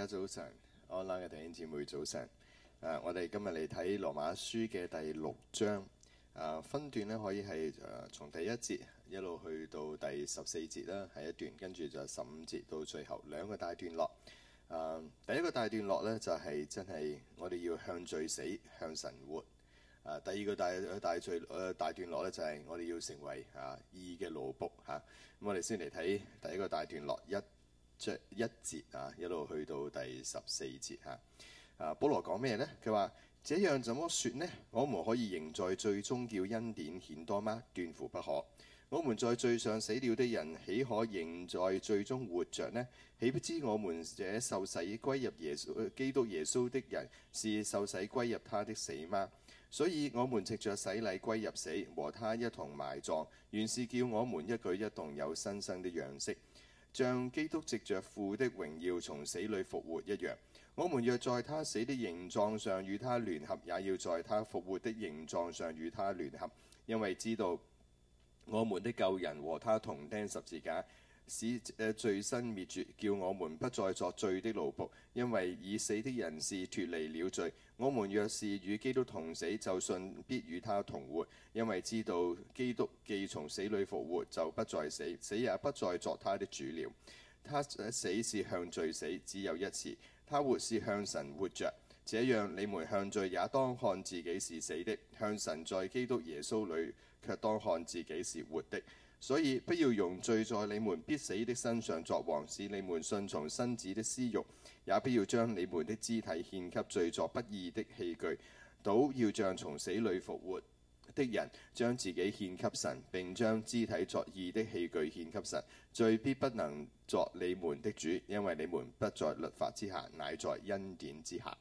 早晨，online 嘅弟兄姊妹早晨。我哋今日嚟睇羅馬書嘅第6章。分段咧可以係從第1節一路去到第14節啦，係一段，跟住就15節到最後2個大段落。第一個大段落咧就係真係我哋要向罪死，向神活。第二個大段落咧就係我哋要成為義嘅奴僕嚇。咁我哋先嚟睇第一個大段落一節一路去到第14節嚇。保羅講咩呢？佢話：這樣怎麼說呢？我們可以仍在罪中叫恩典顯多嗎？斷乎不可。我們在罪上死了的人，豈可仍在罪中活着呢？豈不知我們這受洗歸入基督耶穌的人，是受洗歸入他的死嗎？所以我們藉着洗禮歸入死，和他一同埋葬，原是叫我們一舉一動有新生的樣式，像基督藉着父的榮耀從死裏復活一樣。我們若在他死的形狀上與他聯合，也要在他復活的形狀上與他聯合，因為知道我們的舊人和他同釘十字架，使罪身滅絕，叫我們不再作罪的奴僕。因為已死的人是脫離了罪。我們若是與基督同死，就信必與他同活。因為知道基督既從死裏復活，就不再死，死也不再作他的主了。他死是向罪死，只有一次；他活是向神活着。這樣你們向罪也當看自己是死的，向神在基督耶穌裏卻當看自己是活的。所以不要用罪在你們必死的身上作王，使你們順從身子的私慾；也不要將你們的肢體獻給罪作不義的器具，倒要像從死裏復活的人，將自己獻給神，並將肢體作義的器具獻給神。罪必不能作你們的主，因為你們不在律法之下，乃在恩典之下。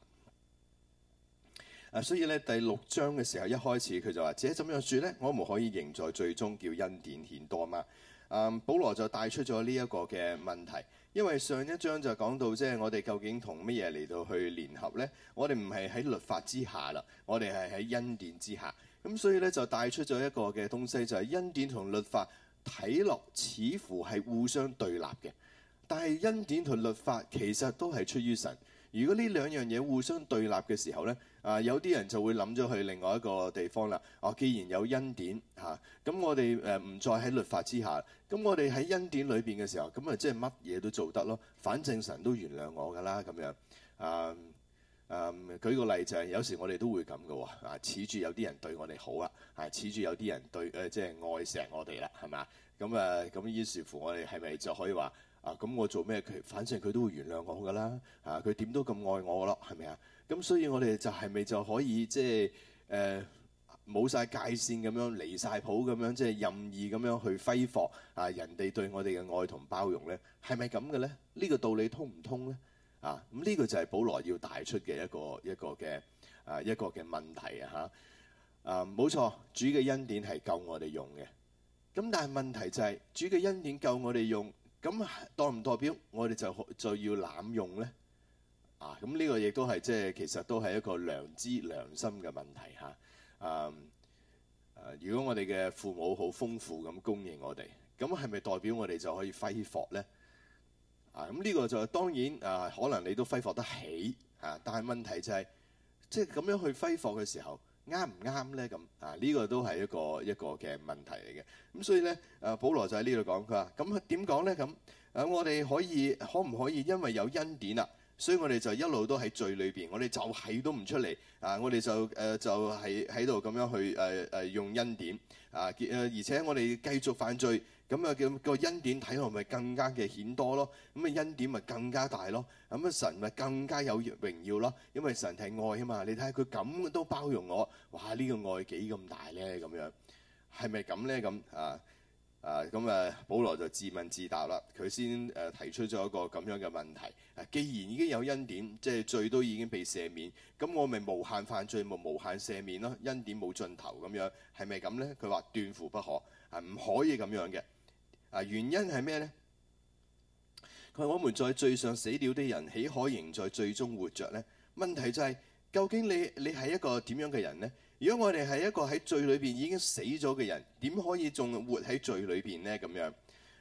所以咧第6章嘅時候一開始佢就話：這怎樣說呢？我們可以仍在罪中叫恩典顯多嗎？保羅就帶出咗呢一個嘅問題，因為上一章就講到即係我哋究竟同乜嘢嚟到去聯合呢？我哋唔係喺律法之下啦，我哋係喺恩典之下。咁所以咧就帶出咗一個嘅東西，就係恩典同律法睇落似乎係互相對立嘅，但係恩典同律法其實都係出於神。如果呢兩樣嘢互相對立嘅時候呢，有啲人就會諗咗去另外一個地方啦。既然有恩典咁我哋唔再喺律法之下，咁我哋喺恩典裏邊嘅時候，咁即係乜嘢都做得咯。反正神都原諒我㗎啦，咁樣。舉個例就係有時我哋都會咁嘅喎，恃住有啲人對我哋好啦，恃住有啲人對即係愛錫我哋啦，係嘛？咁於是乎我哋係咪就可以話？咁我做咩反正佢都會原諒我㗎啦，佢點都咁愛我咯，係咪啊？咁所以我哋就係咪就可以即係冇晒界線咁樣離晒譜咁樣，即係任意咁樣去揮霍人哋對我哋嘅愛同包容咧？係咪咁嘅咧？呢個道理通唔通咧？咁呢個就係保羅要帶出嘅一個嘅問題冇錯，主嘅恩典係夠我哋用嘅。咁但係問題就係主嘅恩典夠我哋用。咁代唔代表我哋就要濫用咧？咁呢個亦都係即係其實都係一個良心嘅問題如果我哋嘅父母好豐富咁供應我哋，咁係咪代表我哋就可以揮霍咧？咁呢個就當然可能你都揮霍得起但係問題就係即係咁樣去揮霍嘅時候啱唔啱咧？咁呢個都係一個嘅問題嚟嘅。咁所以咧保羅就喺呢度講，佢話咁點講咧？咁我哋可唔可以因為有恩典所以我哋就一路都喺罪裏邊，我哋就係都唔出嚟我哋就係喺度咁樣去用恩典而且我哋繼續犯罪，咁叫個恩典睇落咪更加嘅顯多咯，咁恩典咪更加大咯，咁神咪更加有榮耀咯，因為神係愛啊嘛。你睇下佢咁都包容我，哇！呢個愛幾咁大咧？咁樣係咪咁咧？咁保羅就自問自答啦。佢先提出咗一個咁樣嘅問題。既然已經有恩典，即係罪都已經被赦免，咁我咪無限犯罪，咪無限赦免咯？恩典冇盡頭咁樣，係咪咁咧？佢話斷乎不可，唔可以咁樣嘅。原因係咩咧？佢話我們在罪上死了的人，豈可仍在罪中活着咧？問題就係究竟你係一個點樣嘅人咧？如果我哋係一個喺罪裏邊已經死咗嘅人，點可以仲活喺罪裏邊咧？咁樣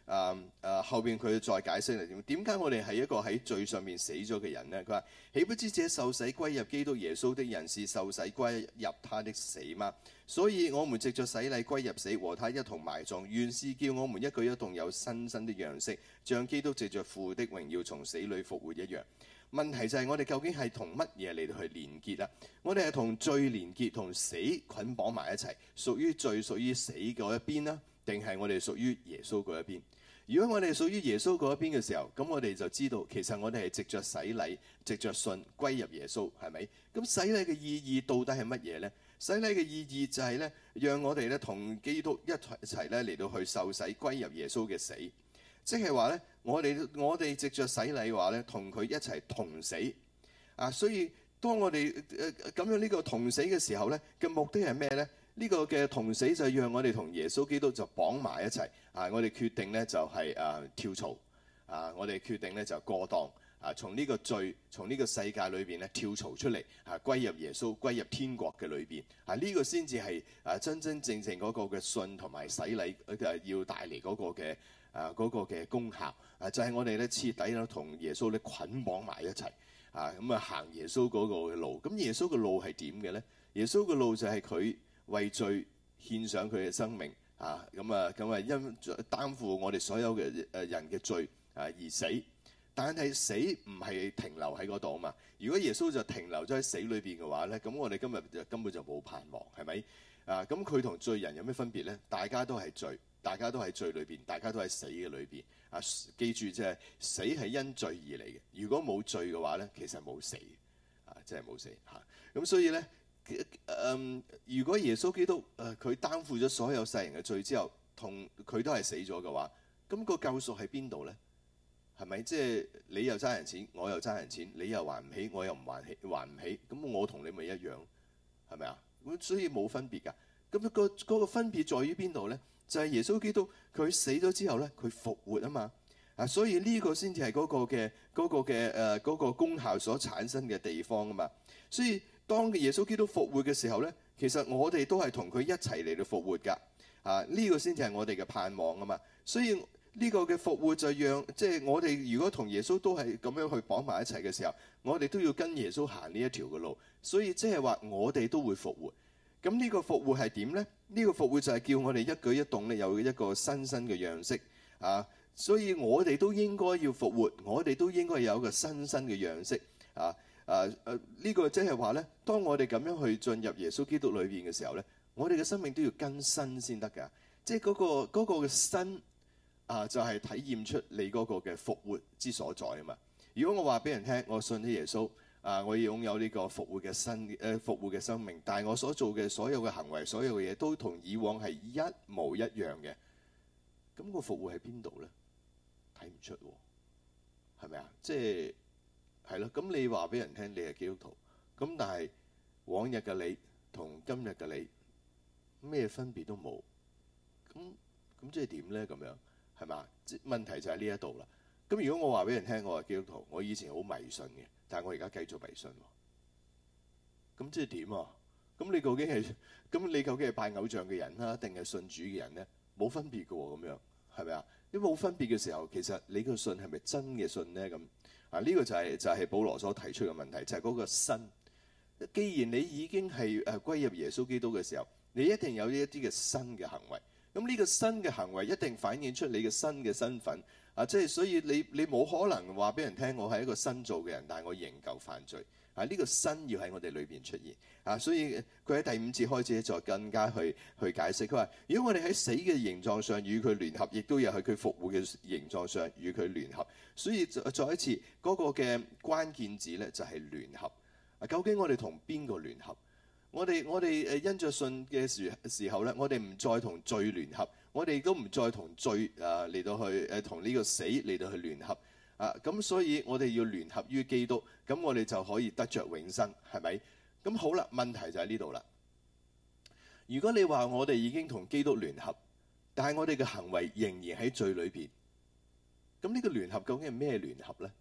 後邊佢再解釋係點解我哋係一個喺罪上面死咗嘅人呢？佢話：豈不知這受洗歸入基督耶穌的人是受洗歸入他的死嗎？所以我們藉着洗禮歸入死，和他一同埋葬，原是叫我們一舉一動有新生的樣式，像基督藉着父的榮耀從死裏復活一樣。問題就係我哋究竟係同乜嘢嚟到去連結啊？我哋係同罪連結，同死捆綁埋一齊，屬於罪、屬於死嗰一邊啦，定係我哋屬於耶穌嗰一邊？如果我哋屬於耶穌嗰一邊嘅時候，咁我哋就知道其實我哋係藉着洗禮、藉着信歸入耶穌，係咪？咁洗禮嘅意義到底係乜嘢呢？洗禮嘅意義就係咧，讓我哋咧同基督一齊咧嚟到去受洗歸入耶穌嘅死。即係話咧，我哋藉着洗禮嘅話咧，同佢一齊同死啊！所以當我哋咁樣呢個同死嘅時候咧，嘅目的係咩咧？呢個嘅同死就係讓我哋同耶穌基督就綁埋一齊啊！我哋決定咧就係跳槽啊！我哋決定咧就過檔啊！從呢個罪，從呢個世界裏邊咧跳槽出嚟啊，歸入耶穌，歸入天國嘅裏邊啊！呢個先至係真真正正嗰個嘅信同埋洗禮要帶嚟嗰個嘅。嗰個嘅功效就係我哋咧徹底咧同耶穌咧捆綁埋一齊咁行耶穌嗰個嘅路。咁耶穌嘅路係點嘅咧？耶穌嘅路就係佢為罪獻上佢嘅生命因擔負我哋所有嘅人嘅罪而死。但係死唔係停留喺嗰度啊嘛。如果耶穌就停留咗喺死裏邊嘅話咧，咁我哋今日就根本就冇盼望，係咪？咁佢同罪人有咩分別咧？大家都係罪。大家都喺罪裏邊，大家都喺死嘅裏邊記住即係死係因罪而嚟嘅。如果冇罪嘅話咧，其實冇死即係冇死咁所以咧如果耶穌基督佢擔負咗所有世人嘅罪之後，同佢都係死咗嘅話，咁個救贖喺邊度咧？係咪即係你又爭人錢，我又爭人錢，你又還唔起，我又唔還唔起，咁我同你咪一樣，係咪啊？咁所以冇分別㗎。咁嗰個分別在於邊度咧？就係耶穌基督佢死咗之後咧，佢復活啊嘛所以呢個先至係嗰個功效所產生嘅地方啊嘛。所以當耶穌基督復活嘅時候咧，其實我哋都係同佢一齊嚟到復活㗎呢個先至係我哋嘅盼望啊嘛。所以呢個嘅復活就讓即係我哋如果同耶穌都係咁樣去綁埋一齊嘅時候，我哋都要跟耶穌行呢一條嘅路。所以即係話我哋都會復活。咁呢個復活係點呢？呢個復活就係叫我哋一舉一動咧有一個新生嘅樣式所以我哋都應該要復活，我哋都應該有一個新生嘅樣式呢個即係話咧，當我哋咁樣去進入耶穌基督裏邊嘅時候咧，我哋嘅生命都要更新先得㗎。即係嗰個嘅新就係體驗出你嗰個嘅復活之所在啊嘛。如果我話俾人聽，我信咗耶穌。我要擁有呢個復活嘅生命，但係我所做嘅所有嘅行為、所有嘅嘢都同以往係一模一樣嘅。咁個復活喺邊度咧？睇唔出喎，係咪啊？即係咯。咁你話俾人聽你係基督徒，咁但係往日嘅你同今日嘅你咩分別都冇。咁即係點咧？咁樣係嘛？問題就喺呢一度啦。咁如果我話俾人聽我係基督徒，我以前好迷信嘅。但係我而家繼續迷信喎，咁即係點啊？咁你究竟係拜偶像嘅人啦，定係信主嘅人咧？冇分別嘅喎，咁樣係咪啊？你冇分別嘅時候，其實你個信係咪真嘅信咧？咁呢個就係保羅所提出嘅問題，就係嗰個新。既然你已經係歸入耶穌基督嘅時候，你一定有呢一啲嘅新嘅行為。咁呢個新嘅行為一定反映出你嘅新嘅身份。即係所以你冇可能話俾人聽我係一個新造嘅人，但係我仍舊犯罪呢個新要喺我哋裏邊出現所以佢喺第5節開始再更加去解釋。佢話如果我哋喺死嘅形狀上與佢聯合，亦都有喺佢復活嘅形狀上與佢聯合。所以再一次嗰個嘅關鍵字咧就係聯合。究竟我哋同邊個聯合？我哋因着信嘅時候咧，我哋唔再同罪聯合，我哋都唔再同罪嚟到去同呢個死嚟到去聯合咁所以我哋要聯合於基督，咁我哋就可以得着永生，係咪？咁好啦，問題就喺呢度啦。如果你話我哋已經同基督聯合，但係我哋嘅行為仍然喺罪裏邊，咁呢個聯合究竟係咩聯合咧？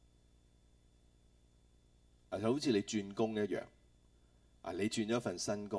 就好似你轉工一樣。你轉咗份新工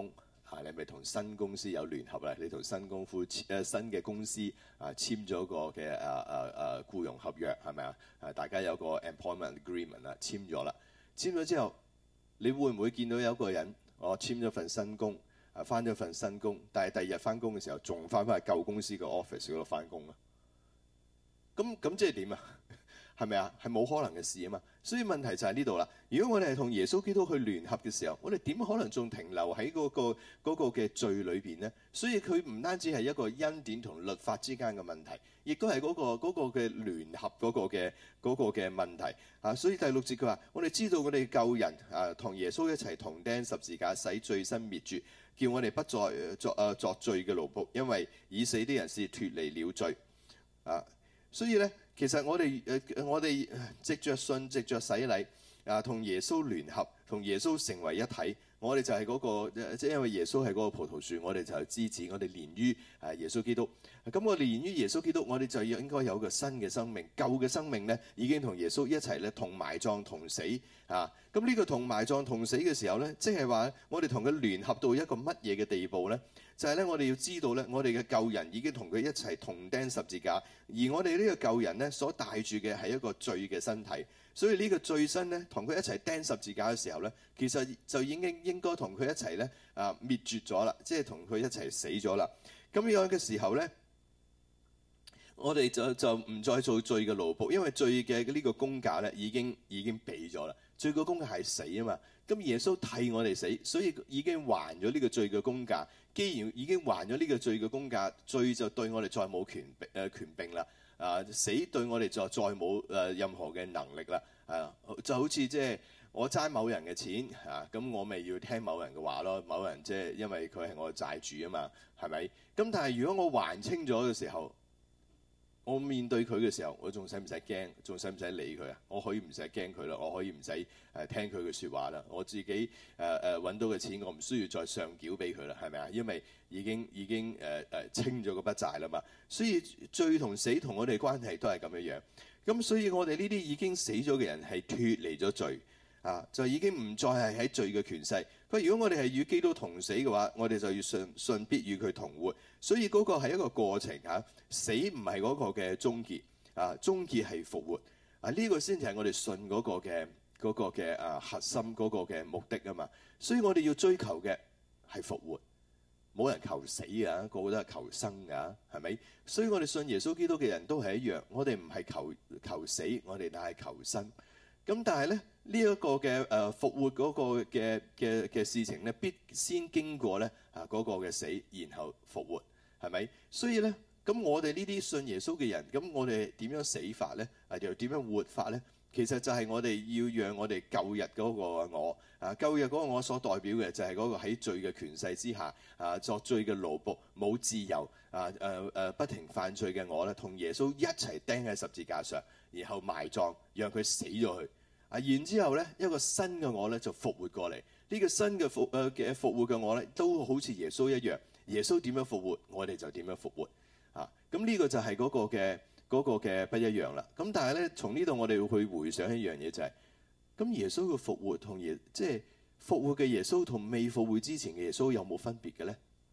你咪同新公司有聯合啦，你同新嘅公司簽咗個嘅僱傭合約係咪啊？大家有個 employment agreement 啦，簽咗啦。簽咗之後，你會唔會見到有個人我簽咗份新工，翻咗份新工，但係第二日翻工嘅時候仲翻去舊公司嘅 office 嗰度翻工啊？咁即係點啊？係咪啊？係冇可能嘅事啊嘛。所以問題就喺呢度啦。如果我哋係同耶穌基督去聯合嘅時候，我哋點可能仲停留喺嗰個嘅罪裏邊呢？所以佢唔單止係一個恩典同律法之間嘅問題，亦都係嗰個嘅聯合嗰個嘅問題啊。所以第6節佢話：我哋知道我哋救人同耶穌一齊同釘十字架，使罪身滅絕，叫我哋不再作罪嘅奴僕，因為已死啲人是脫離了罪啊。所以咧，其實我哋藉着信、藉着洗禮同耶穌聯合，同耶穌成為一體。我哋就係嗰個，即係因為耶穌係嗰個葡萄樹，我哋就係枝子，我哋連於耶穌基督。咁我哋連於耶穌基督，我哋就應該有個新嘅生命。舊嘅生命咧，已經同耶穌一齊咧同埋葬同死啊！咁呢個同埋葬同死嘅時候咧，即係話我哋同佢聯合到一個乜嘢嘅地步咧？就係咧，我哋要知道咧，我哋嘅舊人已經同佢一齊同釘十字架，而我哋呢個舊人咧所帶住嘅係一個罪嘅身體，所以呢個罪身咧同佢一齊釘十字架嘅時候咧，其實就已經應該同佢一齊咧滅絕咗啦，即係同佢一齊死咗啦。咁樣嘅時候咧，我哋就唔再做罪嘅奴僕，因為罪嘅呢個工價咧已經俾咗啦。罪嘅工價係死啊嘛，咁耶穌替我哋死，所以已經還咗呢個罪嘅工價。既然已經還咗呢個罪嘅工價，罪就對我哋再冇權柄啦。死對我哋就再冇任何嘅能力啦。就好似即係我爭某人嘅錢咁我咪要聽某人嘅話咯。某人即係因為佢係我嘅債主啊嘛，係咪？咁但係如果我還清咗嘅時候，我面對佢嘅時候，我仲使唔使驚？仲使唔使理佢啊？我可以唔使驚佢啦，我可以唔使聽佢嘅説話啦。我自己揾到嘅錢，我唔需要再上繳俾佢啦，係咪啊？因為已經清咗個筆債啦嘛。所以罪同死同我哋關係都係咁樣樣。咁所以我哋呢啲已經死咗嘅人係脫離咗罪就已經唔再係喺罪嘅權勢。佢如果我哋係與基督同死嘅話，我哋就要信必與佢同活。所以嗰個係一個過程死唔係嗰個嘅終結終結係復活呢個先至係我哋信嗰個嘅核心嗰個嘅目的啊嘛。所以我哋要追求嘅係復活，冇人求死個個都係求生係咪？所以我哋信耶穌基督嘅人都係一樣，我哋唔係求死，我哋乃係求生。咁但係咧呢一個嘅復活嗰個嘅事情咧，必先經過咧嗰個嘅死，然後復活，係咪？所以咧，咁我哋呢啲信耶穌嘅人，咁我哋點樣死法咧？又點樣活法咧？其實就係我哋要讓我哋舊日嗰個我舊日嗰個我所代表嘅就係嗰個喺罪嘅權勢之下作罪嘅奴僕，冇自由不停犯罪嘅我咧，同耶穌一齊釘喺十字架上，然後埋葬，讓佢死咗去然之後咧，一個新嘅我咧就復活過嚟。呢個新嘅復活嘅我咧，都好似耶穌一樣。耶穌點樣復活，我哋就點樣復活咁呢個就係嗰個嘅不一樣啦。咁但係咧，從呢度我哋要去回想一樣嘢就係，咁耶穌嘅復活同即係復活嘅耶穌同未復活之前嘅耶穌有冇分別嘅咧？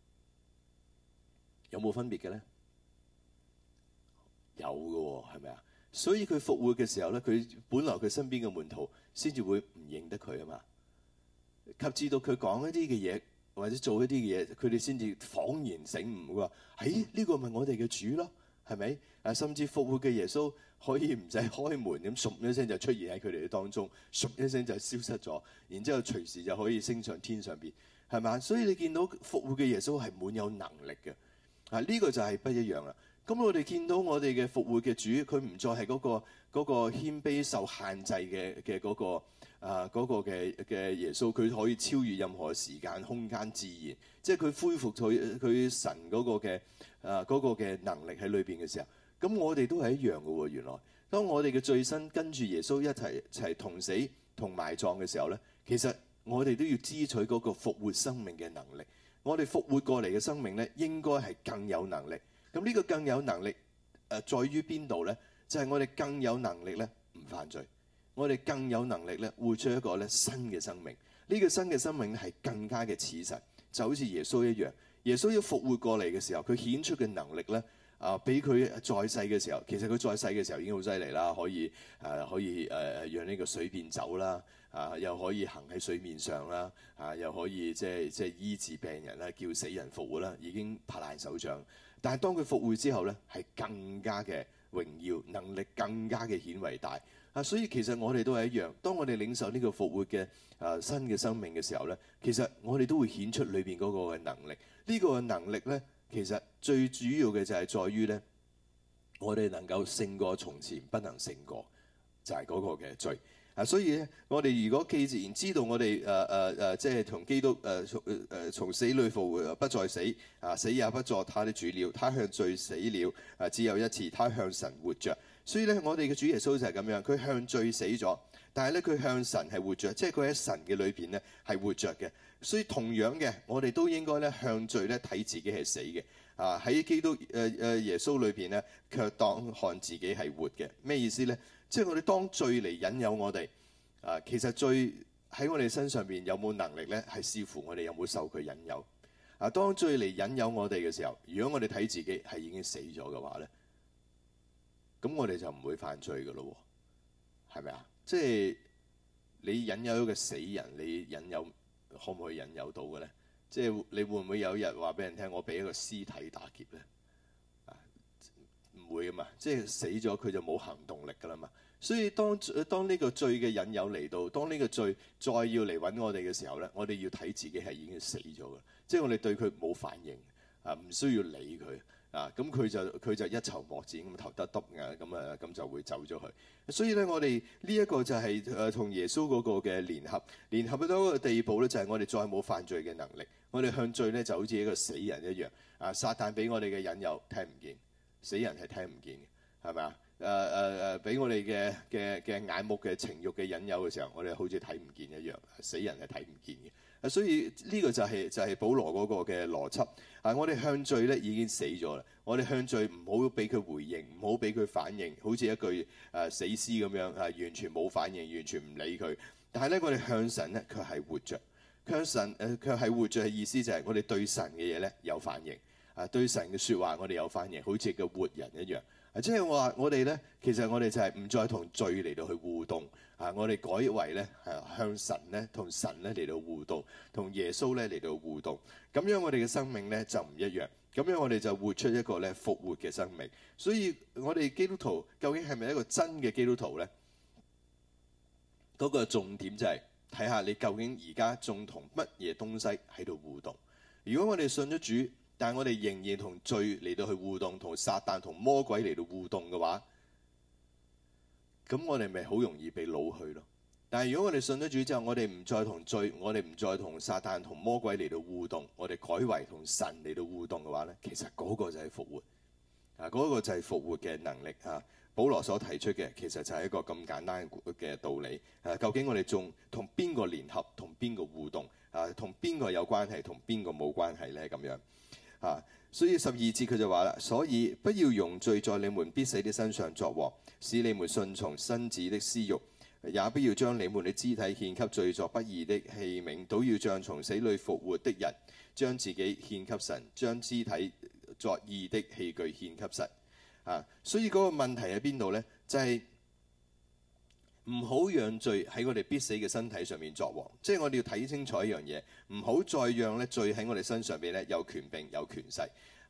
有冇分別嘅咧？有嘅喎，係咪啊？所以佢復活嘅時候咧，佢本來佢身邊嘅門徒先至會唔認得佢啊嘛。及至到佢講一啲嘅嘢或者做一啲嘅嘢，佢哋先至恍然醒悟，佢話：呢個咪我哋嘅主咯，係咪？甚至復活嘅耶穌可以唔使開門咁，唰一聲就出現喺佢哋嘅當中，唰一聲就消失咗，然之後隨時就可以升上天上邊，係嘛？所以你見到復活嘅耶穌係滿有能力嘅呢個就係不一樣啦。咁我哋見到我哋嘅復活嘅主，佢唔再係嗰個謙卑受限制嘅嗰個嘅耶穌，佢可以超越任何時間、空間、自然，即係佢恢復佢神嗰個嘅能力喺裏邊嘅時候，咁我哋都係一樣嘅喎。原來當我哋嘅罪身跟住耶穌一齊同死同埋葬嘅時候咧，其實我哋都要支取嗰個復活生命嘅能力。我哋復活過嚟嘅生命咧，應該係更有能力。咁呢個更有能力在於邊度咧？就係我哋更有能力咧唔犯罪，我哋更有能力咧活出一個咧新嘅生命。呢個新嘅生命咧係更加嘅似神， 就好似耶穌一樣。耶穌要復活過嚟嘅時候，佢顯出嘅能力咧，比佢在世嘅時候，其實佢在世嘅時候已經好犀利啦，可以讓呢個水變酒啦，又可以行喺水面上啦，又可以即係醫治病人啦，叫死人復活啦，已經拍爛手掌。但係當佢復活之後咧，係更加嘅榮耀，能力更加嘅顯為大。所以其實我哋都係一樣，當我哋領受呢個復活嘅新嘅生命嘅時候咧，其實我哋都會顯出裏邊嗰個嘅能力。呢個能力咧，其實最主要嘅就係在於咧，我哋能夠勝過從前不能勝過，就係嗰個嘅罪。所以咧，我哋如果既然知道我哋即係同基督從死裏復活，不再死，死也不作他的主了。他向罪死了，只有一次，他向神活着。所以咧，我哋嘅主耶穌就係咁樣，佢向罪死咗，但係咧佢向神係活着，即係佢喺神嘅裏邊咧係活着嘅。所以同樣嘅，我哋都應該咧向罪咧睇自己係死嘅。喺基督耶穌裏邊咧，卻當看自己係活嘅。咩意思咧？即係我哋當罪嚟引誘我哋，其實罪喺我哋身上邊有冇能力咧，係視乎我哋有冇受佢引誘。當罪嚟引誘我哋嘅時候，如果我哋睇自己係已經死咗嘅話咧，咁我哋就唔會犯罪㗎咯，係咪啊？即係你引誘一個死人，你引誘可唔可以引誘到嘅咧？即係你會唔會有一日話俾人聽，我俾一個屍體打劫咧？唔會噶嘛，即係死咗佢就冇行動力噶啦嘛。所以當呢個罪嘅引誘嚟到，當呢個罪再要嚟揾我哋嘅時候咧，我哋要睇自己係已經死咗嘅，即係我哋對佢冇反應，唔需要理佢。咁佢就一籌莫展咁頭耷耷嘅，咁就會走咗去。所以咧，我哋呢一個就係同耶穌嗰個嘅聯合到一個地步咧，就係我哋再冇犯罪嘅能力。我哋向罪咧就好似一個死人一樣。撒旦俾我哋嘅引誘聽唔見，死人係聽唔見嘅，係咪啊？俾我哋嘅眼目嘅情慾嘅引誘嘅時候，我哋好似睇唔見一樣，死人係睇唔見嘅。所以呢個就係保羅嗰個嘅邏輯。我哋向罪咧已經死咗啦，我哋向罪唔好俾佢回應，唔好俾佢反應，好似一具死屍咁樣，完全冇反應，完全唔理佢。但係咧，我哋向神咧卻係活着，向神卻係活着嘅意思就係我哋對神嘅嘢咧有反應，對神嘅説話我哋有反應，好似個活人一樣。即係話我哋咧，其實我哋就係唔再同罪嚟到去互動，我哋改為咧向神咧同神咧嚟到互動，同耶穌咧嚟到互動。咁樣我哋嘅生命咧就唔一樣，咁樣我哋就活出一個咧復活嘅生命。所以我哋基督徒究竟係咪一個真嘅基督徒咧？嗰個重點就係睇下你究竟而家仲同乜嘢東西喺度互動。如果我哋信咗主，但係我哋仍然同罪嚟到去互動，同撒旦同魔鬼嚟到互動嘅話，咁我哋咪好容易被擄去咯。但係如果我哋信咗主之後，我哋唔再同罪，我哋唔再同撒旦同魔鬼嚟到互動，我哋改為同神嚟到互動嘅話咧，其實嗰個就係復活，嗰個就係復活嘅能力啊！保羅所提出嘅其實就係一個咁簡單嘅道理。究竟我哋仲同邊個聯合，同邊個互動？同邊個有關係，同邊個冇關係咧？咁樣。所以12節佢就話啦，所以不要容罪在你們必死的身上作王，使你們順從身子的私慾，也不要將你們的肢體獻給罪作不義的器皿，都要像從死裏復活的人，將自己獻給神，將肢體作義的器具獻給神。所以嗰個問題喺邊度呢？就係唔好讓罪喺我哋必死嘅身體上面作王，即係我哋要睇清楚一樣嘢，唔好再讓咧罪喺我哋身上邊咧有權柄有權勢。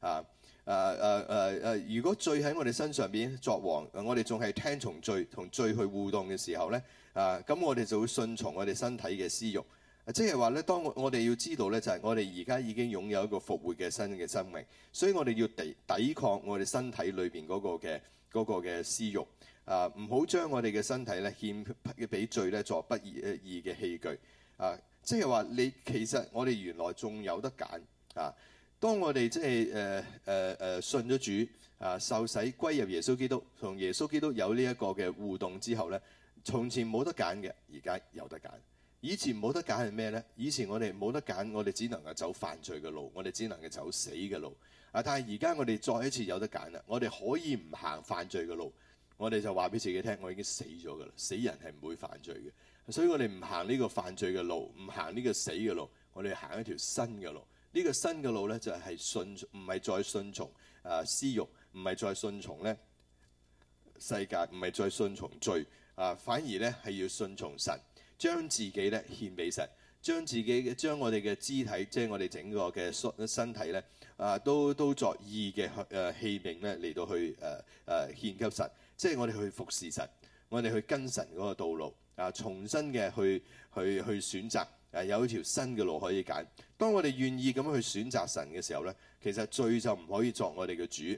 如果罪喺我哋身上邊作王，我哋仲係聽從罪同罪去互動嘅時候咧，咁我哋就會順從我哋身體嘅私慾。即係話咧，當我哋要知道咧，就係我哋而家已經擁有一個復活嘅新嘅生命，所以我哋要抵抗我哋身體裏邊嗰個嘅私慾。唔好將我哋嘅身體咧獻俾罪咧作不義嘅器具。即係話你其實我哋原來仲有得揀。當我哋即係信咗主，受洗歸入耶穌基督，同耶穌基督有呢一個嘅互動之後咧，從前冇得揀嘅，而家有得揀。以前冇得揀係咩咧？以前我哋冇得揀，我哋只能夠走犯罪嘅路，我哋只能夠走死嘅路。但係而家我哋再一次有得揀啦，我哋可以唔行犯罪嘅路。我哋就話俾自己聽，我已經死咗㗎啦，死人係唔會犯罪嘅，所以我哋唔行呢個犯罪嘅路，唔行呢個死嘅路，我哋行一條新嘅路， 呢個新嘅路咧就係唔係再順從私慾，唔係再順從咧世界，唔係再順從罪反而咧係要順從神，將自己咧獻俾神，將我哋嘅肢體，即係我哋整個嘅身體咧都作義嘅器皿咧嚟到去獻給神，即係我哋去服侍神，我哋去跟神嗰個道路重新嘅去選擇。有一條新嘅路可以揀。當我哋願意咁樣去選擇神嘅時候咧，其實罪就唔可以作我哋嘅主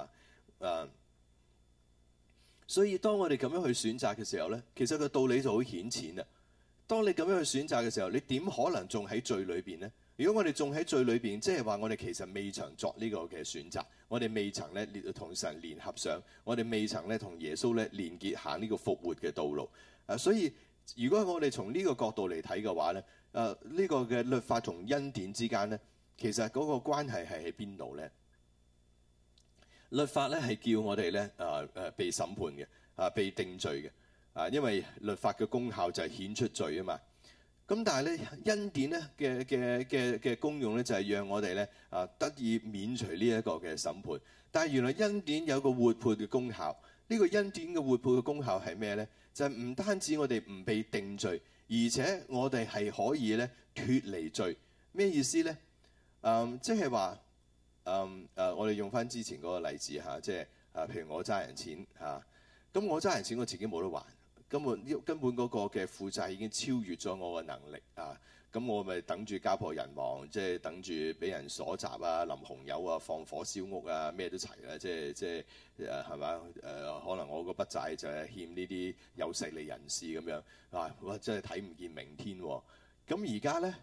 所以當我哋咁樣去選擇嘅時候咧，其實個道理就好顯淺啦。當你咁樣去選擇嘅時候，你點可能仲喺罪裏邊呢？如果我哋仲喺罪裏邊，即係話我哋其實未曾作呢個嘅選擇，我哋未曾咧同神聯合上，我哋未曾咧同耶穌咧連結行呢個復活嘅道路所以如果我哋從呢個角度嚟睇嘅話咧，呢個嘅律法同恩典之間咧，其實嗰個關係係喺邊度咧？律法咧係叫我哋咧被審判嘅被定罪嘅因為律法嘅功效就係顯出罪啊嘛。咁但係咧恩典咧嘅功用咧就係讓我哋咧得以免除呢一個嘅審判。但係原來恩典有個活潑嘅功效。呢個恩典嘅活潑嘅功效係咩咧？就係唔單止我哋唔被定罪，而且我哋係可以咧脫離罪。咩意思咧？即係話我哋用翻之前嗰個例子即係譬如我揸人錢咁我揸人錢我自己冇得還，根本嗰個嘅負債已經超越咗我嘅能力咁我咪等住家破人亡，即係等住俾人鎖閘淋紅油放火燒屋咩都齊啦，即係係嘛可能我個筆債就係欠呢啲有勢力人士咁樣哇真係睇唔見明天喎。咁而家咧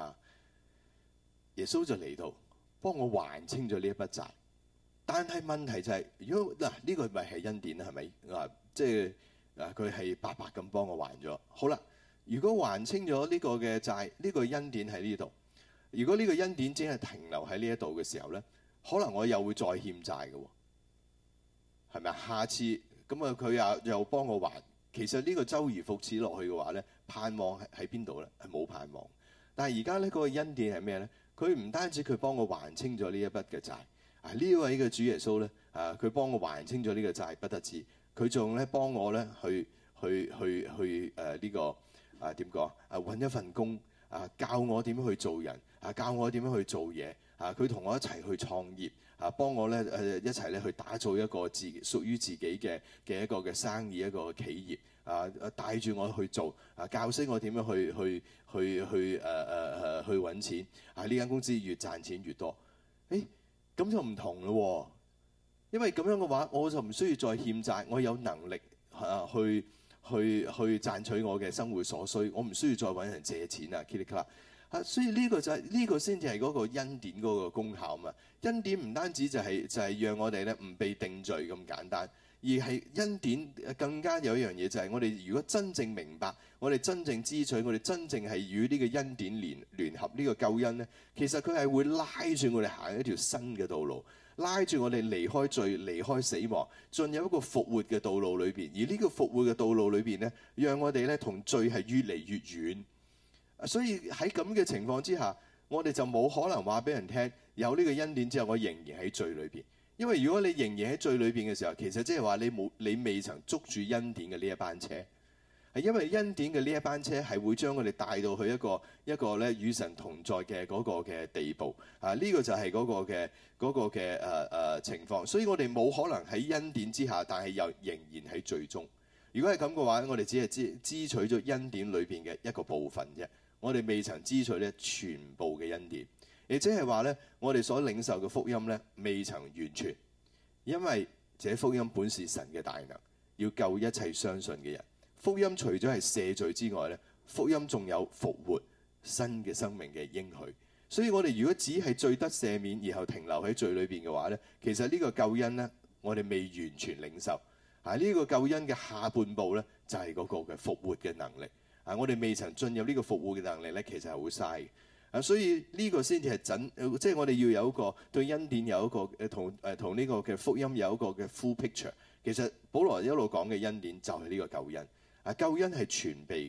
耶穌就嚟到幫我還清咗呢一筆債。但係問題就係如果呢個咪係恩典啦，係咪即係佢係白白咁幫我還咗。好啦，如果還清咗呢個嘅債，呢個恩典喺呢度。如果呢個恩典只係停留喺呢一度嘅時候咧，可能我又會再欠債嘅喎，係咪啊？下次咁佢又幫我還，其實呢個周而復始落去嘅話咧，盼望喺邊度咧？係冇盼望。但係而家咧嗰個恩典係咩咧？佢唔單止佢幫我還清咗呢一筆嘅債呢位嘅主耶穌咧佢幫我還清咗呢個債不得止，佢仲咧幫我咧去呢個點講揾一份工教我點樣去做人教我點樣去做嘢佢同我一齊去創業幫我咧一齊咧去打造一個屬於自己嘅一個嘅生意，一個企業帶住我去做教識我點樣去揾錢呢間公司越賺錢越多。咁就唔同咯因為咁樣嘅話，我就唔需要再欠債，我有能力去賺取我嘅生活所需，我唔需要再揾人借錢所以呢個就係呢個先至係嗰個恩典嗰個功效嘛。恩典唔單止就係讓我哋咧唔被定罪咁簡單，而係恩典更加有一樣嘢就係我哋如果真正明白，我哋真正支取，我哋真正係與呢個恩典聯合呢個救恩咧，其實佢係會拉住我哋行一條新嘅道路，拉住我哋離開罪、離開死亡，進入一個復活嘅道路裏邊。而呢個復活嘅道路裏邊咧，讓我哋咧同罪係越嚟越遠。所以喺咁嘅情況之下，我哋就冇可能話俾人聽有呢個恩典之後，我仍然喺罪裏邊。因為如果你仍然喺罪裏邊嘅時候，其實即係話你未曾捉住恩典嘅呢一班車。係因為恩典嘅呢一班車係會將我哋帶到去一個咧與神同在嘅嗰個嘅地步呢個就係嗰個嘅情況。所以我哋冇可能喺恩典之下，但係又仍然喺罪中。如果係咁嘅話，我哋只係支取咗恩典裏邊嘅一個部分啫。我哋未曾支取咧全部嘅恩典，亦即係話咧，我哋所領受嘅福音咧未曾完全，因為這福音本是神嘅大能，要救一切相信嘅人。福音除咗係赦罪之外咧，福音仲有復活、新嘅生命嘅應許。所以我哋如果只係罪得赦免，然後停留喺罪裏邊嘅話咧，其實呢個救恩咧，我哋未完全領受。呢個救恩嘅下半部咧，就係嗰個嘅復活嘅能力。我哋未曾進入呢個復活嘅能力咧，其實係好嘥嘅。所以呢個先至係即係我哋要有一個對恩典有一個同呢個嘅福音有一個嘅 full picture。其實保羅一路講嘅恩典就係呢個救恩。救恩係全備嘅。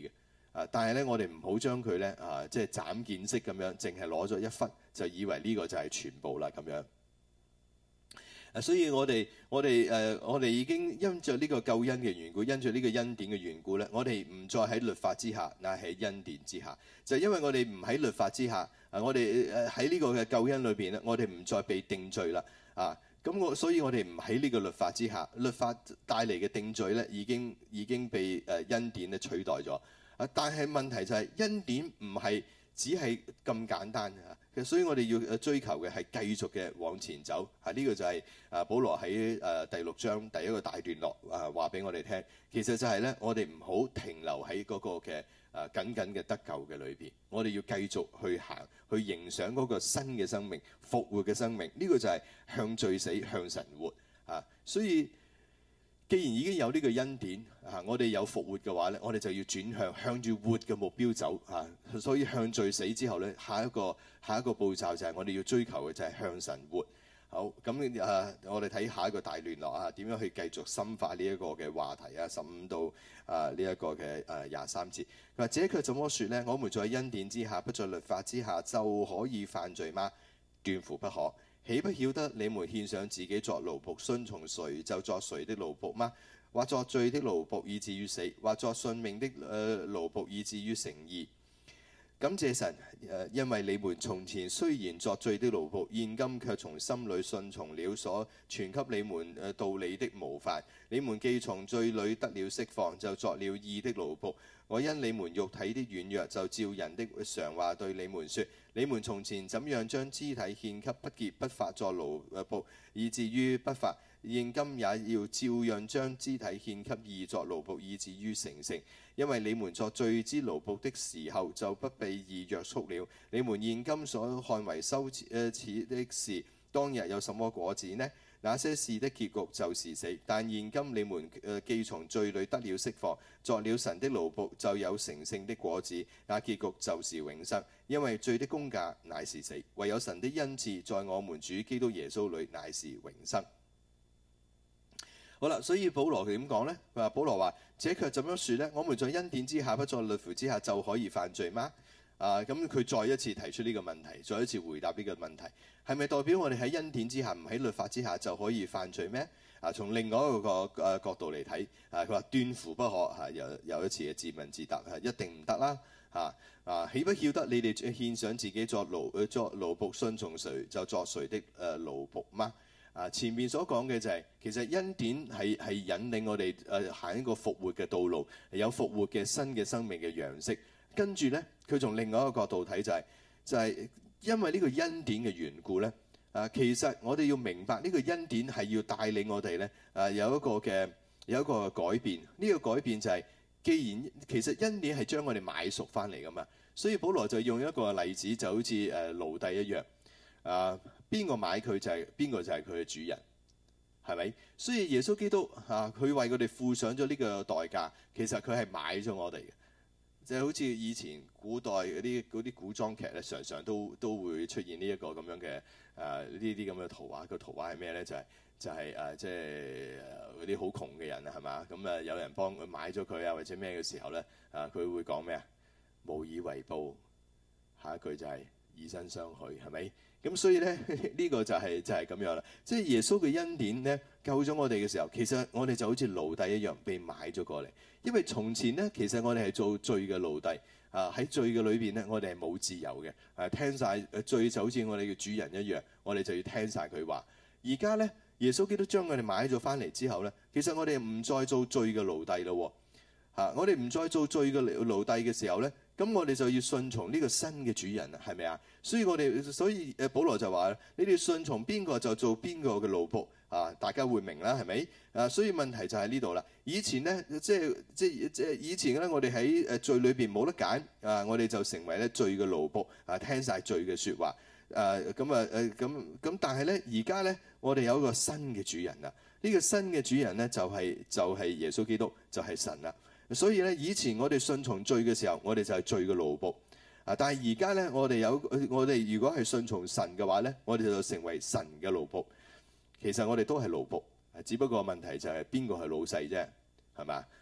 但係咧，我哋唔好將佢咧即係斬件式咁樣，淨係攞咗一忽，就以為呢個就係全部啦咁樣。所以我哋已經因着呢個救恩嘅緣故，因着呢個恩典嘅緣故咧，我哋唔再喺律法之下，乃係恩典之下。就因為我哋唔喺律法之下，我哋喺呢個嘅救恩裏邊咧，我哋唔再被定罪啦。所以我哋唔喺呢個律法之下，律法帶嚟嘅定罪咧，已經被恩典咧取代咗。但係問題就係恩典唔係只係咁簡單嘅，所以我哋要追求嘅係繼續嘅往前走。呢個就係保羅喺第6章第一個大段落話俾我哋聽。其實就係咧，我哋唔好停留喺嗰個嘅僅僅嘅得救嘅裏邊，我哋要繼續去行，去迎上嗰個新嘅生命、復活嘅生命。呢個就係向罪死、向神活所以既然已經有呢個恩典我哋有復活嘅話咧，我哋就要轉向住活嘅目標走所以向罪死之後咧，下一個步驟就係我哋要追求嘅就係向神活。好，咁我哋睇下一個大段落點樣去繼續深化呢一個嘅話題15到呢一個嘅23節。佢話：這卻怎麼說呢？我們在恩典之下，不在律法之下，就可以犯罪嗎？斷乎不可。豈不曉得你們獻上自己作奴僕，順從誰就作誰的奴僕嗎？或作罪的奴僕以至於死，或作信命的奴僕以至於成義。感謝神，因為你們從前雖然作罪的奴僕，現今卻從心裏順從了所傳給你們道理的模範。你們既從罪裏得了釋放，就作了義的奴僕。我因你們肉體的軟弱，就照人的常話對你們說：你們從前怎樣將肢體獻給不潔不法作奴僕，以至於不法，現今也要照樣將肢體獻給義作奴僕，以至於成聖。因為你們作罪之奴僕的時候，就不被義約束了。你們現今所看為羞恥的事，當日有什麼果子呢？那些事的結局就是死。但現今你們既從罪裏得了釋放，作了神的奴僕，就有成聖的果子。那結局就是永生。因為罪的工價乃是死，唯有神的恩賜在我們主基督耶穌裏乃是永生。好啦，所以保羅點講呢？保羅話：這卻怎樣說呢？我們在恩典之下，不在律法之下，就可以犯罪嗎？咁佢再一次提出呢個問題，再一次回答呢個問題，係咪代表我哋喺恩典之下，唔喺律法之下就可以犯罪咩？從另外一個角度嚟睇，佢話斷乎不可有一次嘅自問自答，一定唔得啦。豈不曉得你哋獻上自己作奴僕，順從誰就作誰的奴僕嗎？前面所講嘅就係其實恩典係引領我哋行一個復活嘅道路，有復活嘅新嘅生命嘅樣式。跟住咧，佢從另外一個角度睇就係因為呢個恩典嘅緣故咧，其實我哋要明白呢個恩典係要帶領我哋咧有一個改變。呢個改變就係既然其實恩典係將我哋買贖翻嚟噶嘛，所以保羅就用一個例子，就好似奴隸一樣邊個買佢就係邊個就係佢嘅主人，係咪？所以耶穌基督佢為佢哋付上咗呢個代價，其實佢係買咗我哋嘅。就好似以前古代嗰啲古裝劇咧，常常都會出現呢一個咁樣嘅呢啲咁嘅圖畫。個圖畫係咩咧？就係即係嗰啲好窮嘅人係嘛？咁有人幫佢買咗佢或者咩嘅時候咧佢會講咩啊？無以為報，下一句就係以身相許，係咪？咁所以咧呢個就係咁樣啦。即係耶穌嘅恩典咧救咗我哋嘅時候，其實我哋就好似奴隸一樣被買咗過嚟。因為從前咧，其實我哋係做罪嘅奴隸喺罪嘅裏邊咧，我哋係冇自由嘅聽晒罪就好似我哋嘅主人一樣，我哋就要聽晒佢話。而家咧，耶穌基督將我哋買咗翻嚟之後咧，其實我哋唔再做罪嘅奴隸咯我哋唔再做罪嘅奴隸嘅時候咧，咁我哋就要順從呢個新嘅主人係咪啊？所以保羅就話：你哋順從邊個就做邊個嘅奴僕大家會明啦，係咪？所以問題就喺呢度啦。以前咧，以前咧，我哋喺罪裏邊冇得揀我哋就成為咧罪嘅奴僕聽晒罪嘅説話咁但係咧，而家咧，我哋有一個新嘅主人啦。呢個新嘅主人咧就係耶穌基督，就係神啦。所以咧，以前我哋順從罪嘅時候，我哋就係罪嘅奴僕但係而家咧，我哋如果係順從神嘅話咧，我哋就成為神嘅奴僕。其實我哋都係奴僕，只不過問題就係邊個係老細啫，係嘛？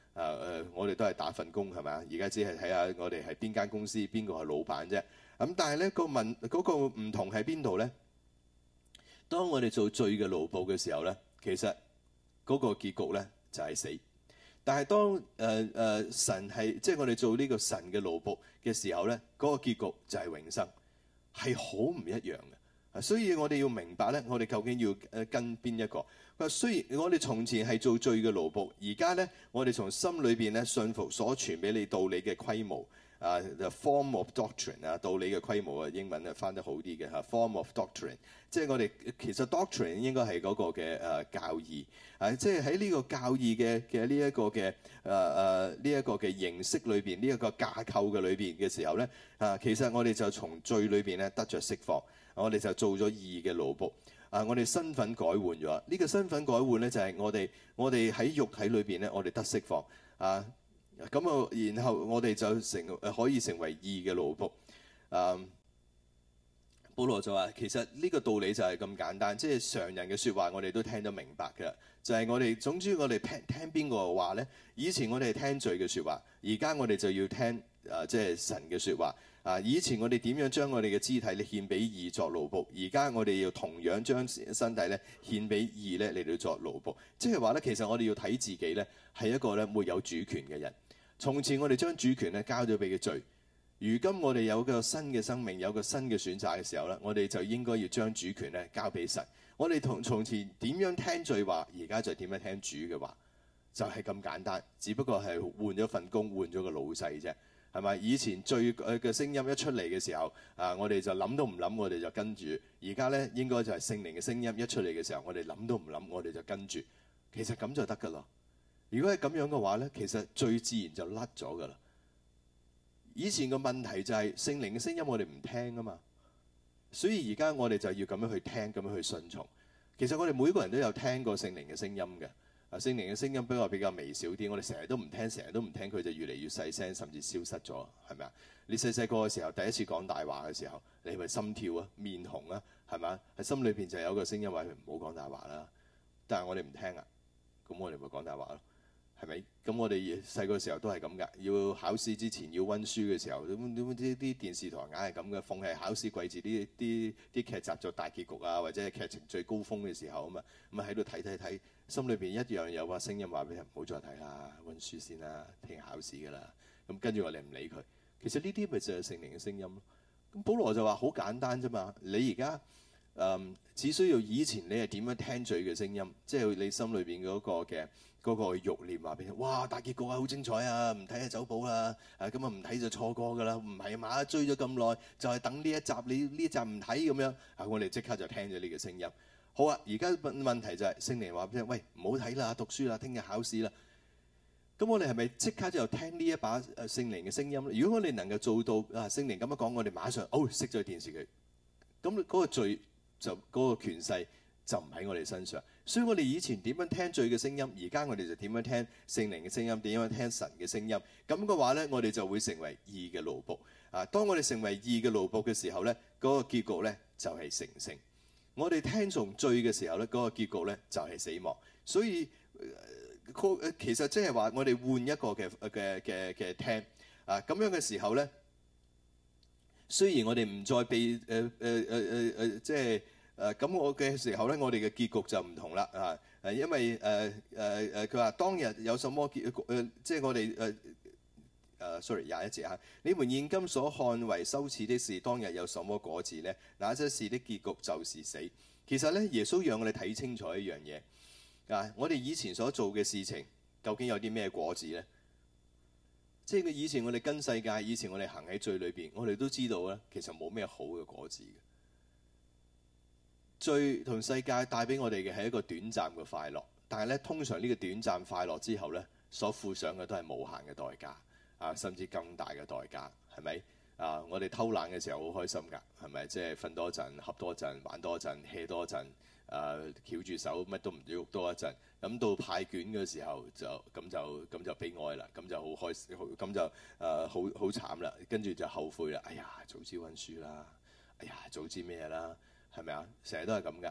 我哋都係打份工係咪啊？而家只係睇下我哋係邊間公司，邊個係老闆啫。咁但係咧嗰個唔同喺邊度咧？當我哋做罪嘅奴僕嘅時候咧，其實嗰個結局咧就係死。但係當神係即係我哋做呢個神嘅奴僕嘅時候咧，嗰個結局就係永生，係好唔一樣嘅。所以我哋要明白咧，我哋究竟要跟邊一個？佢話雖然我哋從前係做罪嘅奴僕，而家咧我哋從心裏邊咧信服所傳俾你道理嘅規模。The form of doctrine 道理嘅規模英文翻得好啲嘅嚇。form of doctrine， 即係我哋其實 doctrine 應該係嗰個嘅教義，即係喺呢個教義嘅呢一個嘅呢一個嘅形式裏邊，呢一個架構嘅裏邊嘅時候咧，其實我哋就從罪裏邊咧得着釋放，我哋就做咗義嘅奴僕。我哋身份改換咗，呢個身份改換咧就係我哋喺肉體裏邊咧，我哋得釋放咁然後我哋就可以成為義嘅奴僕。保羅就話其實呢個道理就係咁簡單，即係常人嘅説話我哋都聽得明白嘅，就係我哋總之我哋聽邊個嘅話咧？以前我哋係聽罪嘅説話，而家我哋就要聽即係神嘅説話。以前我哋點樣將我哋嘅肢體咧獻俾義作奴僕，而家我哋要同樣將身體咧獻俾義咧嚟到作奴僕。即係話咧，其實我哋要睇自己咧係一個咧沒有主權嘅人。從前我哋將主權咧交咗俾佢罪，如今我哋有個新嘅生命，有個新嘅選擇嘅時候咧，我哋就應該要將主權咧交俾神。我哋從前點樣聽罪話，而家就點樣聽主嘅話，就係咁簡單。只不過係換咗份工，換咗個老細啫。係咪？以前罪嘅聲音一出嚟嘅時候，我哋就諗都唔諗，我哋就跟住。而家咧應該就係聖靈嘅聲音一出嚟嘅時候，我哋諗都唔諗，我哋就跟住。其實咁就得㗎啦。如果係咁樣嘅話咧，其實最自然就甩咗㗎啦。以前個問題就係聖靈嘅聲音我哋唔聽啊嘛，所以而家我哋就要咁樣去聽，咁樣去順從。其實我哋每個人都有聽過聖靈嘅聲音嘅。聖靈嘅聲音比較微小啲，我哋成日都唔聽，佢就越嚟越細聲，甚至消失咗，係咪啊？你細個嘅時候，第一次講大話嘅時候，你係咪心跳啊、面紅啊，係咪啊？喺心裏邊就有個聲音話：唔好講大話啦。但係我哋唔聽啊，咁我哋咪講大話咯，係咪？咁我哋細個時候都係咁㗎，要考試之前要温書嘅時候，啲電視台硬係咁嘅，逢係考試季節啲劇集做大結局啊，或者係劇情最高峰嘅時候啊嘛，咁啊喺度睇。心裏邊一樣有把聲音話俾人唔好再睇啦，温書先啦，聽日考試㗎啦。咁跟住我哋唔理佢。其實呢啲咪就係聖靈嘅聲音咯。咁保羅就話好簡單啫嘛。你而家只需要以前你係點樣聽罪嘅聲音，即係你心裏邊嗰個慾念話俾你。哇！大結局啊，好精彩啊，唔睇下走寶啦。咁啊唔睇就錯過㗎啦。唔係嘛，追咗咁耐，就係等呢一集，你呢集唔睇咁樣。我哋即刻就聽咗呢個聲音。好啊！而家問題就係聖靈話俾你聽：喂，唔好睇啦，讀書啦，聽日考試啦。咁我哋係咪即刻就聽呢一把聖靈嘅聲音咧？如果我哋能夠做到聖靈咁樣講，我哋馬上熄咗電視佢。咁嗰個罪就嗰個權勢就唔喺我哋身上。所以我哋以前點樣聽罪嘅聲音，而家我哋就點樣聽聖靈嘅聲音，點樣聽神嘅聲音。咁嘅話咧，我哋就會成為義嘅奴僕。當我哋成為義嘅奴僕嘅時候咧，嗰個結局咧就係成聖。我哋聽從罪嘅時候咧，嗰個結局咧就係死亡。所以其實即係話我哋換一個嘅聽咁樣嘅時候咧，雖然我哋唔再被即係咁我嘅時候咧，我哋嘅結局就唔同啦因為佢話當日有什麼結局即係我哋sorry 21節你們現今所看為羞恥的事，當日有什麼果子呢？那些事的結局就是死。其實咧，耶穌讓我哋睇清楚一樣嘢我哋以前所做嘅事情究竟有啲咩果子呢？即係以前我哋跟世界，以前我哋行喺罪裏邊，我哋都知道咧，其實冇咩好嘅果子嘅。罪同世界帶俾我哋嘅係一個短暫嘅快樂，但係咧，通常呢個短暫快樂之後咧，所付上嘅都係無限嘅代價。甚至更大嘅代價，係咪？我哋偷懶嘅時候好開心㗎，係咪？即係瞓多陣、瞌多陣、玩多陣、hea 多陣，翹住手乜都唔喐多一陣。咁到派卷嘅時候就悲哀啦，咁就好開心，咁就好慘啦。跟住就後悔啦，哎呀，早知温書啦，哎呀，早知咩啦，係咪啊？成日都係咁㗎。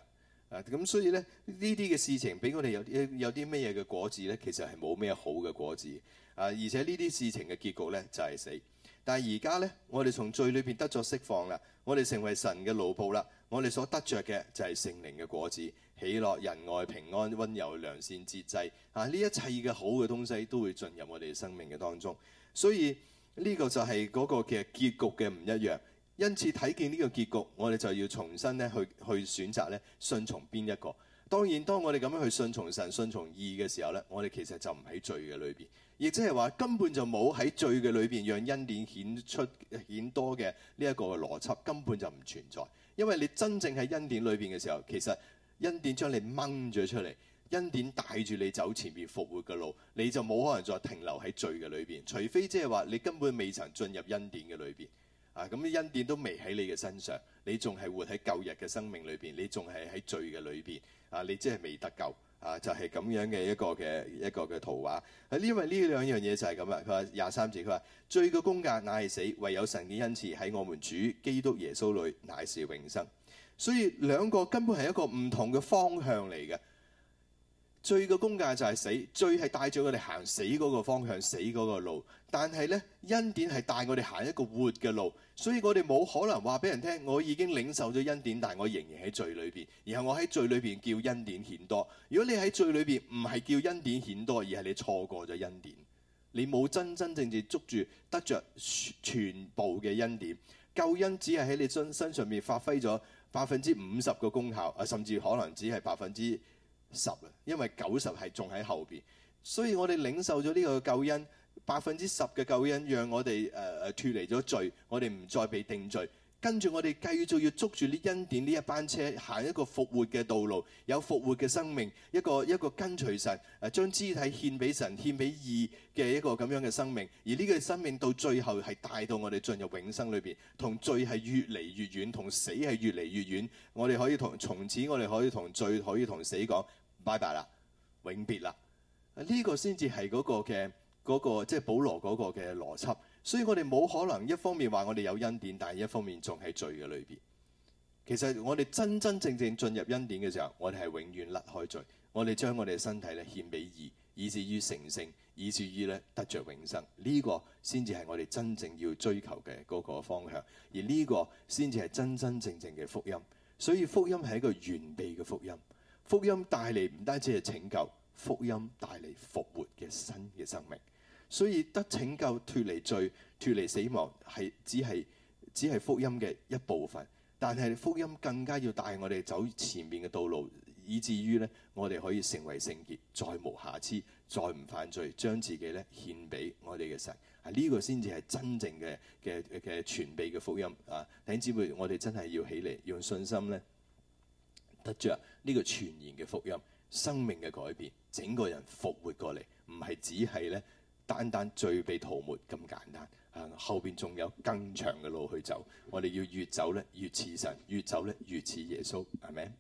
咁所以咧呢啲嘅事情俾我哋有啲咩嘢嘅果子咧？其實係冇咩好嘅果子而且呢啲事情嘅結局咧就係死。但係而家咧，我哋從罪裏邊得咗釋放啦，我哋成為神嘅奴僕啦，我哋所得着嘅就係聖靈嘅果子，喜樂、仁愛、平安、溫柔、良善、節制呢一切嘅好嘅東西都會進入我哋生命嘅當中。所以呢個就係嗰個嘅結局嘅唔一樣。因此睇見呢個結局，我哋就要重新咧去選擇咧順從邊一個。當然，當我哋咁樣去順從神、順從義嘅時候咧，我哋其實就唔喺罪嘅裏邊，亦即係話根本就冇喺罪嘅裏邊讓恩典顯多嘅呢一個邏輯，根本就唔存在。因為你真正喺恩典裏邊嘅時候，其實恩典將你掹咗出嚟，恩典帶住你走前面復活嘅路，你就冇可能再停留喺罪嘅裏邊，除非即係話你根本未曾進入恩典嘅裏邊。咁啲恩典都未喺你嘅身上，你仲係活喺舊日嘅生命裏邊，你仲係喺罪嘅裏邊，你即係未得救，就係咁樣嘅一個嘅圖畫。因為呢兩樣嘢就係咁啦。佢話23節，佢話罪嘅工價乃係死，唯有神嘅恩賜喺我們主基督耶穌裏乃是永生。所以兩個根本係一個唔同嘅方向嚟嘅。罪嘅工價就係死，罪係帶咗我哋行死嗰個方向，死嗰個路。但係呢，恩典係帶我哋行一個活嘅路，所以我哋冇可能話俾人聽，我已經領受咗恩典，但係我仍然喺罪裏邊，然後我喺罪裏邊叫恩典顯多。如果你喺罪裏邊唔係叫恩典顯多，而係你錯過咗恩典，你冇真正捉住得着全部嘅恩典，救恩只係喺你身上面發揮咗50%嘅功效，甚至可能只係10%，因為90%係仲喺後邊。所以我哋領受咗呢個救恩，10%嘅救恩，讓我哋脫離咗罪，我哋唔再被定罪。跟住我哋繼續要捉住呢恩典呢一班車，行一個復活嘅道路，有復活嘅生命，一個跟隨神，將肢體獻俾神、獻俾義嘅一個咁樣嘅生命。而呢個生命到最後係帶到我哋進入永生裏邊，同罪係越嚟越遠，同死係越嚟越遠。我哋可以從此我哋可以同罪可以同死講拜拜啦，永別啦。呢個先至係嗰個即係保羅嗰個嘅邏輯。所以我哋冇可能一方面話我哋有恩典，但係一方面仲喺罪嘅裏邊。其實我哋真真正正進入恩典嘅時候，我哋係永遠甩開罪。我哋將我哋嘅身體咧獻俾義，以至於成聖，以至於咧得着永生。呢個先至係我哋真正要追求嘅嗰個方向。而呢個先至係真真正正嘅福音。所以福音係一個完備嘅福音。福音帶嚟唔單止係拯救，福音帶嚟復活嘅新嘅生命。所以得拯救、脫離罪、脫離死亡係只係福音嘅一部分，但係福音更加要帶我哋走前面嘅道路，以至於咧我哋可以成為聖潔，再無瑕疵，再唔犯罪，將自己咧獻俾我哋嘅神。呢個先至係真正嘅全備嘅福音啊！弟兄姊妹，我哋真係要起嚟，用信心咧得着呢個全然嘅福音，生命嘅改變，整個人復活過嚟，唔係只係咧單單罪被塗抹咁簡單，後邊仲有更長嘅路去走。我哋要越走咧越似神，越走咧越似耶穌。係咪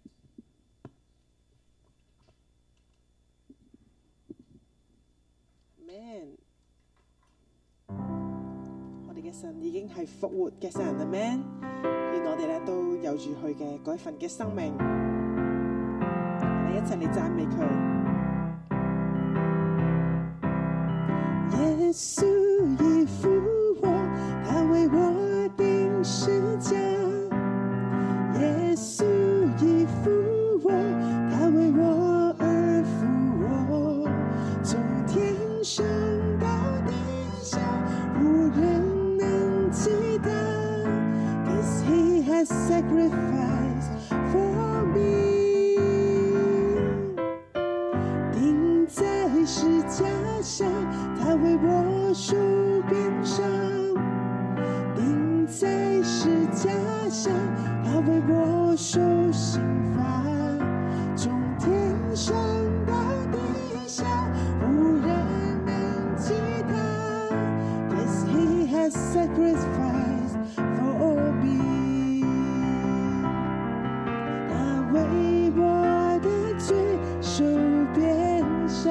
？Amen。我哋嘅神已經係復活嘅神。Amen。願我哋咧都有住佢嘅嗰一份嘅生命，我哋一齊嚟讚美佢。耶穌已復活，他為我釘十架。耶穌已復活，他為我而復活。從天上到地下，無人能抵擋。'Cause he has sacrificed for me。 釘在十架上，他為我受鞭傷，釘在十架上，他為我受刑罰。從天上到地下，無人能抵擋。 'Cause he has sacrificed for me。 他為我的罪受鞭傷，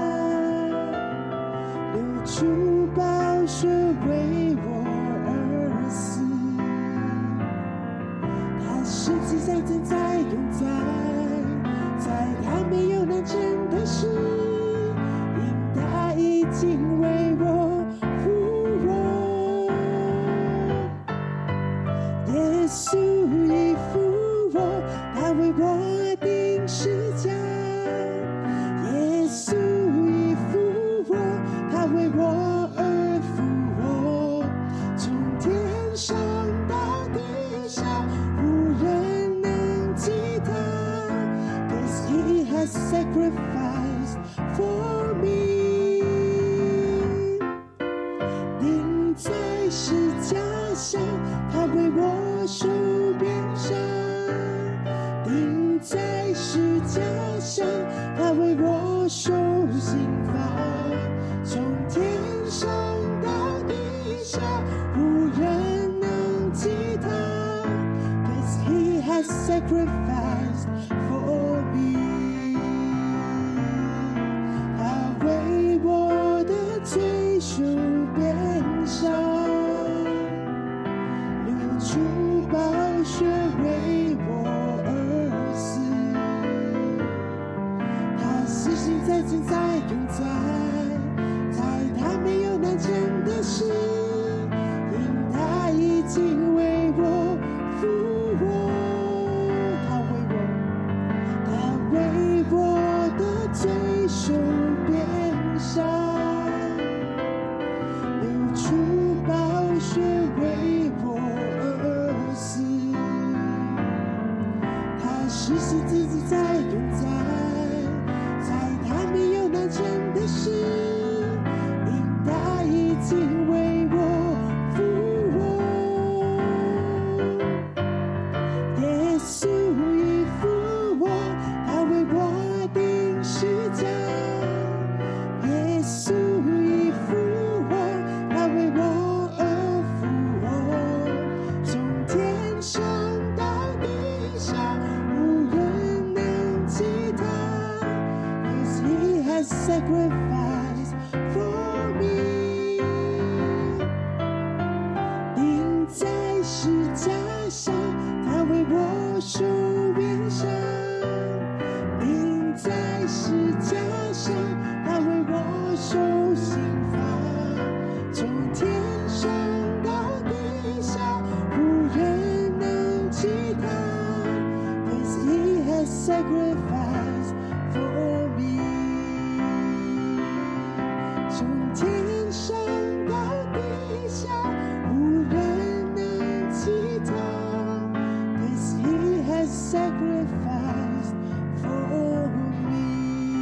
出寶血為我而死，他十字架正在永在， 十架上，他为我受鞭伤，钉在十架上，他为我受刑罚，从天上到地下，无人能及他。Cause he has sacrificed for me， 他为我的罪受鞭伤，流出宝血为我而死，他施行在今在永在，在他没有难成的事，因他已经为我复活，他为我的罪受鞭伤，流出宝血为我而死，他施行自己在永在，在他没有难成的事，因他已经为我复活。耶稣已复活，他为我钉十架。耶稣已复活，他为我而复活，从天上到地下，无人能及他。Cause he has sacrificed for me， 钉在十架上，他为我受鞭伤，钉在十架上，他为我受刑罚，从天上到地下，无人能及他。Cause he has sacrificed for me， 从天上到地下，无人能及他。Cause he has sacrificed for me，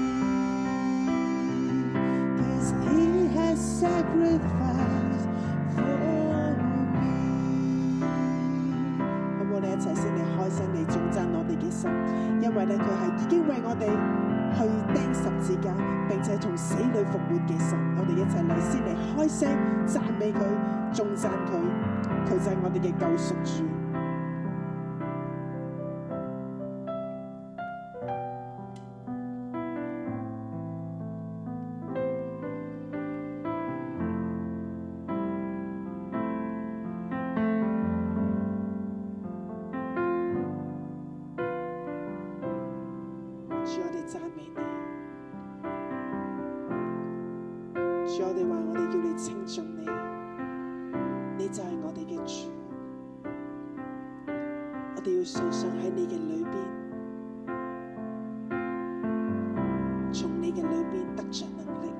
Cause he has sacrificed for me。 咁我哋一齊先嚟開聲嚟頌讚我哋嘅神，因為咧佢係已經為我哋去釘十字架，並且從死裏復活嘅神。我哋一齊嚟先嚟開聲讚美佢，頌讚佢，佢就係我哋嘅救贖主。主，我哋讚美你。主，我哋話我哋要嚟稱頌你，你就係我哋嘅主。我哋要常常喺你嘅裏邊，從你嘅裏邊得着能力。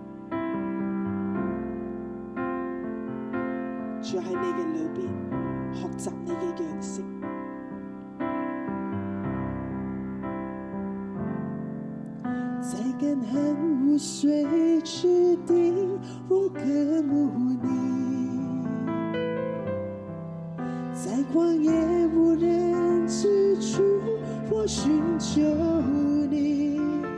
主，喺你嘅裏邊學習你嘅樣式。在乾旱無水之地，我渴慕你；在曠野無人之處，我尋求你。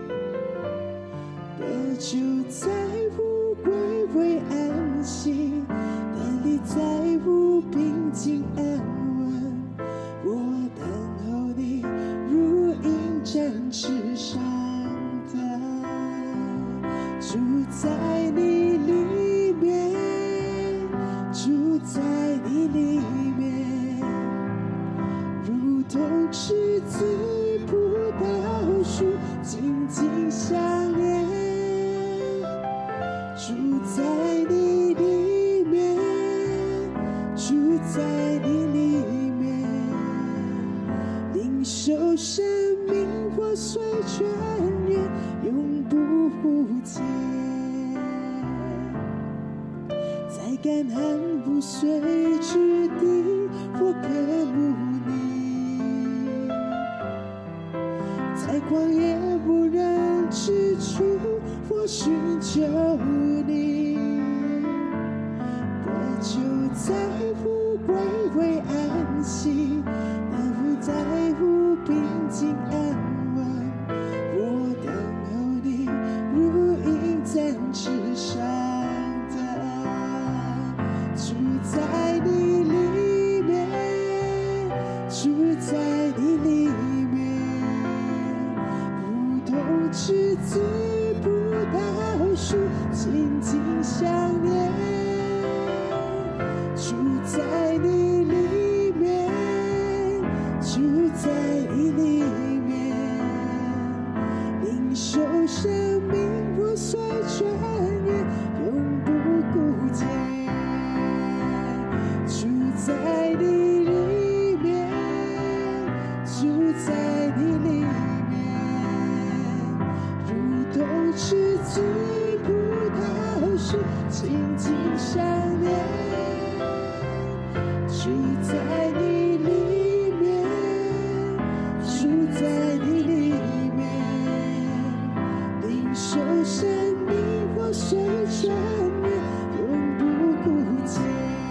得救在乎歸回安息，得力在乎平靜安穩。我等候你，如鷹展翅上。住在你里面，住在你里面，如同枝子葡萄樹緊緊相連。住在你里面，住在你里面，領受生命活水泉源，永不竭。在乾旱無水之地，我渴慕你；在曠野無人之處，我尋求你。得救在乎归回安息，也不在乎平静安稳。我等候你，如鹰展翅上腾，住在你里面，住在你里面，如同赤子葡萄树，紧紧相连。住在你里面，住在你里面，领受生命破碎穿越，永不枯竭。住在你里面，住在你里面，如同赤子葡萄树，紧紧相连。住在你里面，住在你里面，领受生命破碎穿越，永不枯竭。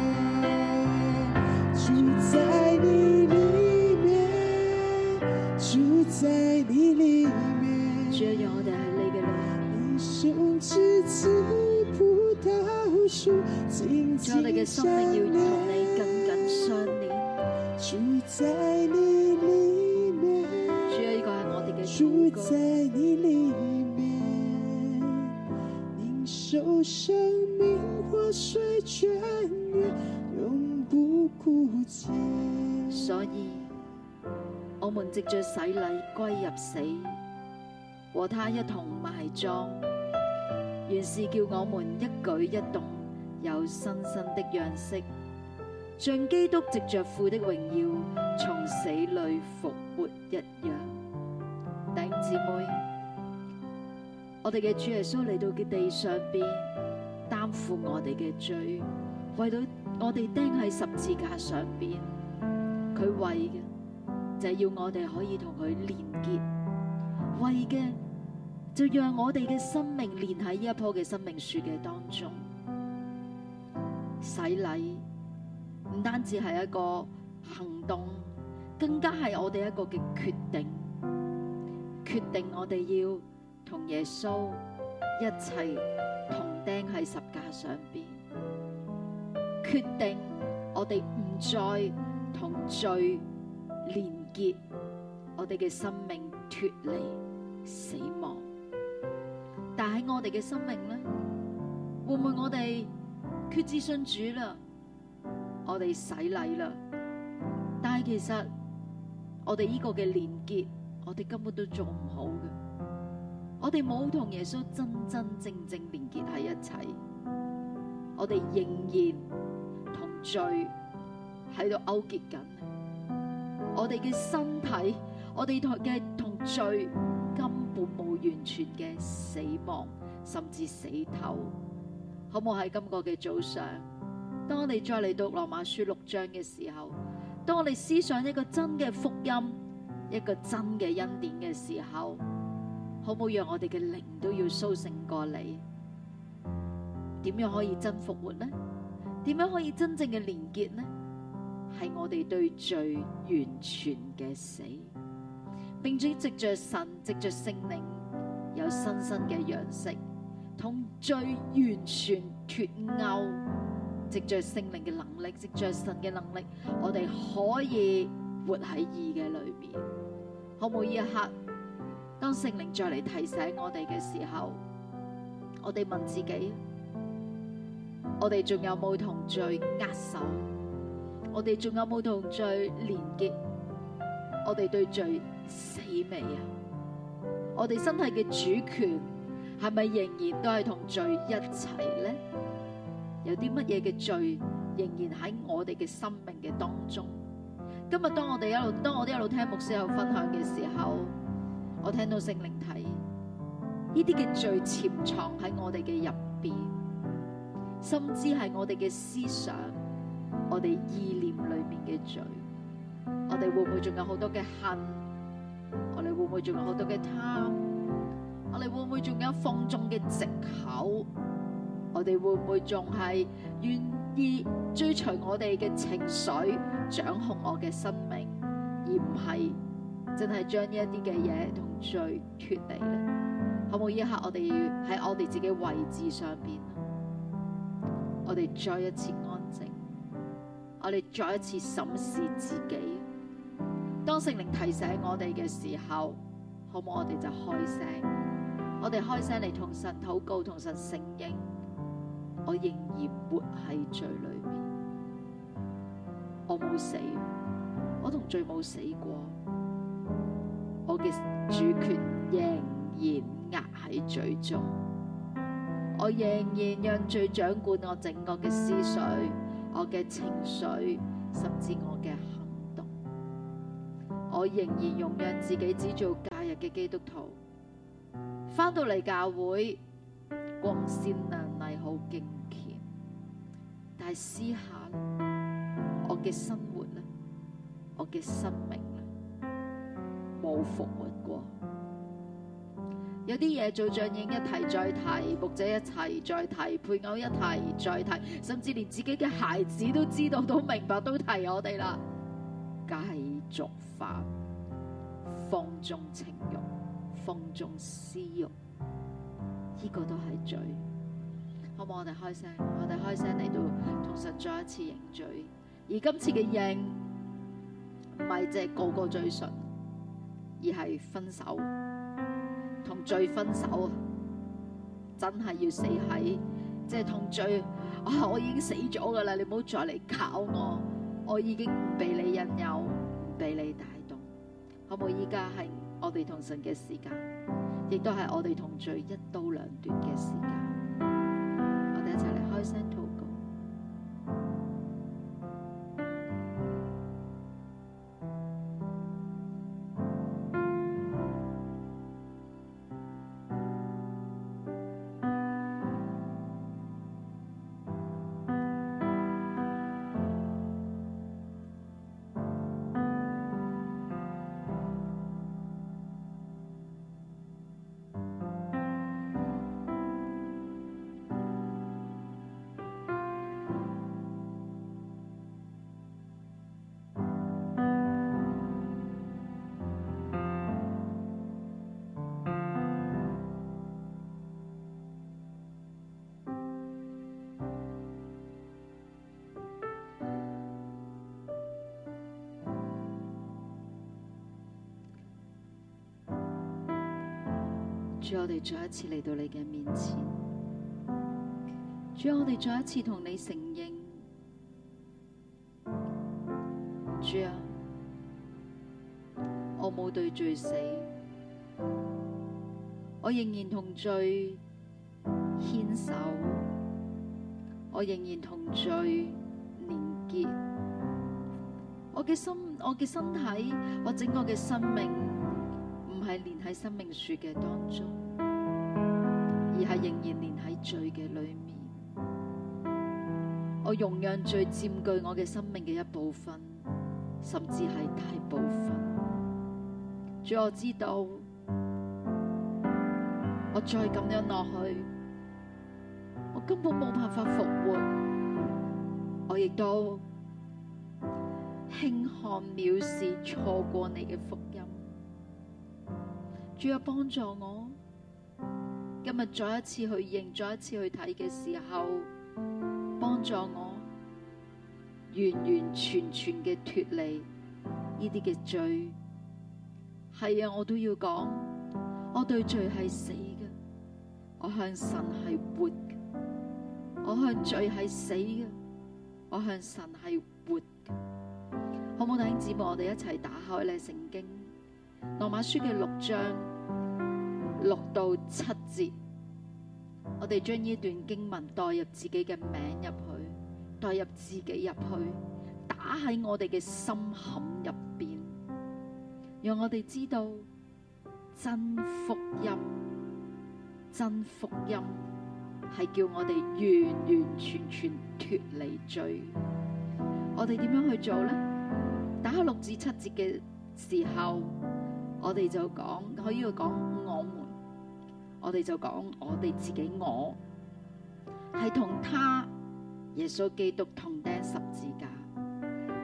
住在你里面，住在你里面。 主啊，讓我哋喺你嘅裏面， 你手持此葡萄樹，緊主啊，我哋嘅緊相生命要同你連。 緊緊相連。 住在你里面， 主啊，呢個係我哋嘅住禱告。 在你里面，領受生命活水泉源，永不枯竭。 所以，我們藉着洗禮歸入死，和他一同埋葬，原是叫我們一舉一動有新生的樣式，像基督藉着父的榮耀從死裏復活一樣。弟兄姊妹，我哋嘅主耶穌嚟到嘅地上邊，擔負我哋嘅罪，為到我哋釘喺十字架上邊，佢為嘅就係要我哋可以同佢連結，為嘅就讓我哋嘅生命連喺呢一棵嘅生命樹嘅當中。洗禮唔單止係一個行動，更加係我哋一個嘅決定，決定我哋要同耶穌一齊同釘喺十架上邊，決定我哋唔再同罪連結，我哋嘅生命脫離死亡。但喺我哋嘅生命咧，會唔會我哋決志信主啦，我哋洗禮啦，但係其實我哋呢個嘅連結，我哋根本都做唔好嘅，我哋冇同耶穌真真正正連結喺一齊，我哋仍然同罪喺度勾結緊，我哋嘅身體，我哋同罪根本冇完全嘅死亡，甚至死透。好唔好喺今個嘅早上，當我哋再嚟到羅馬書6章嘅時候，當我哋思想一個真嘅福音，一個真嘅恩典嘅時候，好唔好讓我哋嘅靈都要甦醒過嚟？點樣可以真復活呢？點樣可以真正嘅連結呢？係我哋對罪完全嘅死，並且藉着神、藉着聖靈有新生嘅樣式，同罪完全脫鈎，藉着聖靈嘅能力，藉着神嘅能力，我哋可以活喺義嘅裏面。好唔好？呢一刻，當聖靈再嚟提醒我哋嘅時候，我哋問自己：我哋仲有冇同罪握手？我哋仲有冇同罪連結？我哋對罪死未啊？我哋身體嘅主權係咪仍然都係同罪一齊咧？有啲乜嘢嘅罪仍然喺我哋嘅生命嘅當中？今日當我哋一路聽牧師喺度分享嘅時候，我聽到聖靈提呢啲嘅罪潛藏喺我哋嘅入邊，甚至係我哋嘅思想、我哋意念裏面嘅罪。我哋會唔會仲有好多嘅恨？我哋會唔會仲有好多嘅貪？我哋會唔會仲有放縱嘅藉口？我哋會唔會仲係願意追隨我哋嘅情緒掌控我嘅生命，而唔係真係將呢一啲嘅嘢同罪脫離咧？可唔可以一刻我哋喺我哋自己位置上邊，我哋再一次安靜，我哋再一次審視自己。當聖靈提醒我哋嘅時候，好唔好我哋就開聲？我哋開聲嚟同神禱告，同神承認，我仍然活喺罪裏面，我冇死，我同罪冇死過，我嘅主權仍然壓喺罪中，我仍然讓罪掌管我整個嘅思緒、我嘅情緒，甚至我嘅行動。我仍然容讓自己只做假日嘅基督徒，返到嚟教會光鮮亮麗好敬虔，但係私下我嘅生活咧，我嘅生命咧冇復活過。有啲嘢做像應一提再提，牧者一提再提，配偶一提再提，甚至連自己嘅孩子都知道、都明白、都提我哋啦。繼續犯，放縱情慾，放縱私慾，呢個都係罪。好唔好？我哋開聲，我哋開聲嚟到同神再一次認罪。而今次嘅認唔係即係個個嘴唇，而係分手。同罪分手，真係要死喺即係同罪。我已經死咗噶啦，你唔好再嚟搞我，我已經唔俾你引誘，唔俾你帶動。可唔可以依家係我哋同神嘅時間，亦都係我哋同罪一刀兩斷嘅時間。我哋一齊嚟開聲禱告。主，我哋再一次嚟到你嘅面前。主，我哋再一次同你承認。主啊，我冇對罪死，我仍然同罪牽手，我仍然同罪連結。我嘅心，我嘅身體，我整個嘅生命，唔係連喺生命樹嘅當中，而係仍然連喺罪嘅裏面。我容讓罪佔據我嘅生命嘅一部分，甚至係大部分。主，我知道，我再咁樣落去，我根本冇辦法復活。我亦都輕看藐視，錯過你嘅福音。主啊，幫助我，今日再一次去認，再一次去睇嘅時候，幫助我完完全全嘅脫離呢啲嘅罪。係啊，我都要講，我對罪係死嘅，我向神係活嘅，我向罪係死嘅，我向神係活嘅。好唔好，弟兄姊妹，我哋一齊打開咧聖經羅馬書嘅6章6到7節，我哋將呢段經文代入自己嘅名入去，代入自己入去，打喺我哋嘅心坎入邊，讓我哋知道真福音，真福音係叫我哋完完全全脫離罪。我哋點樣去做呢？打開6至7節嘅時候，我哋就講，可以講我們，我哋就講我哋自己，我係同他耶穌基督同釘十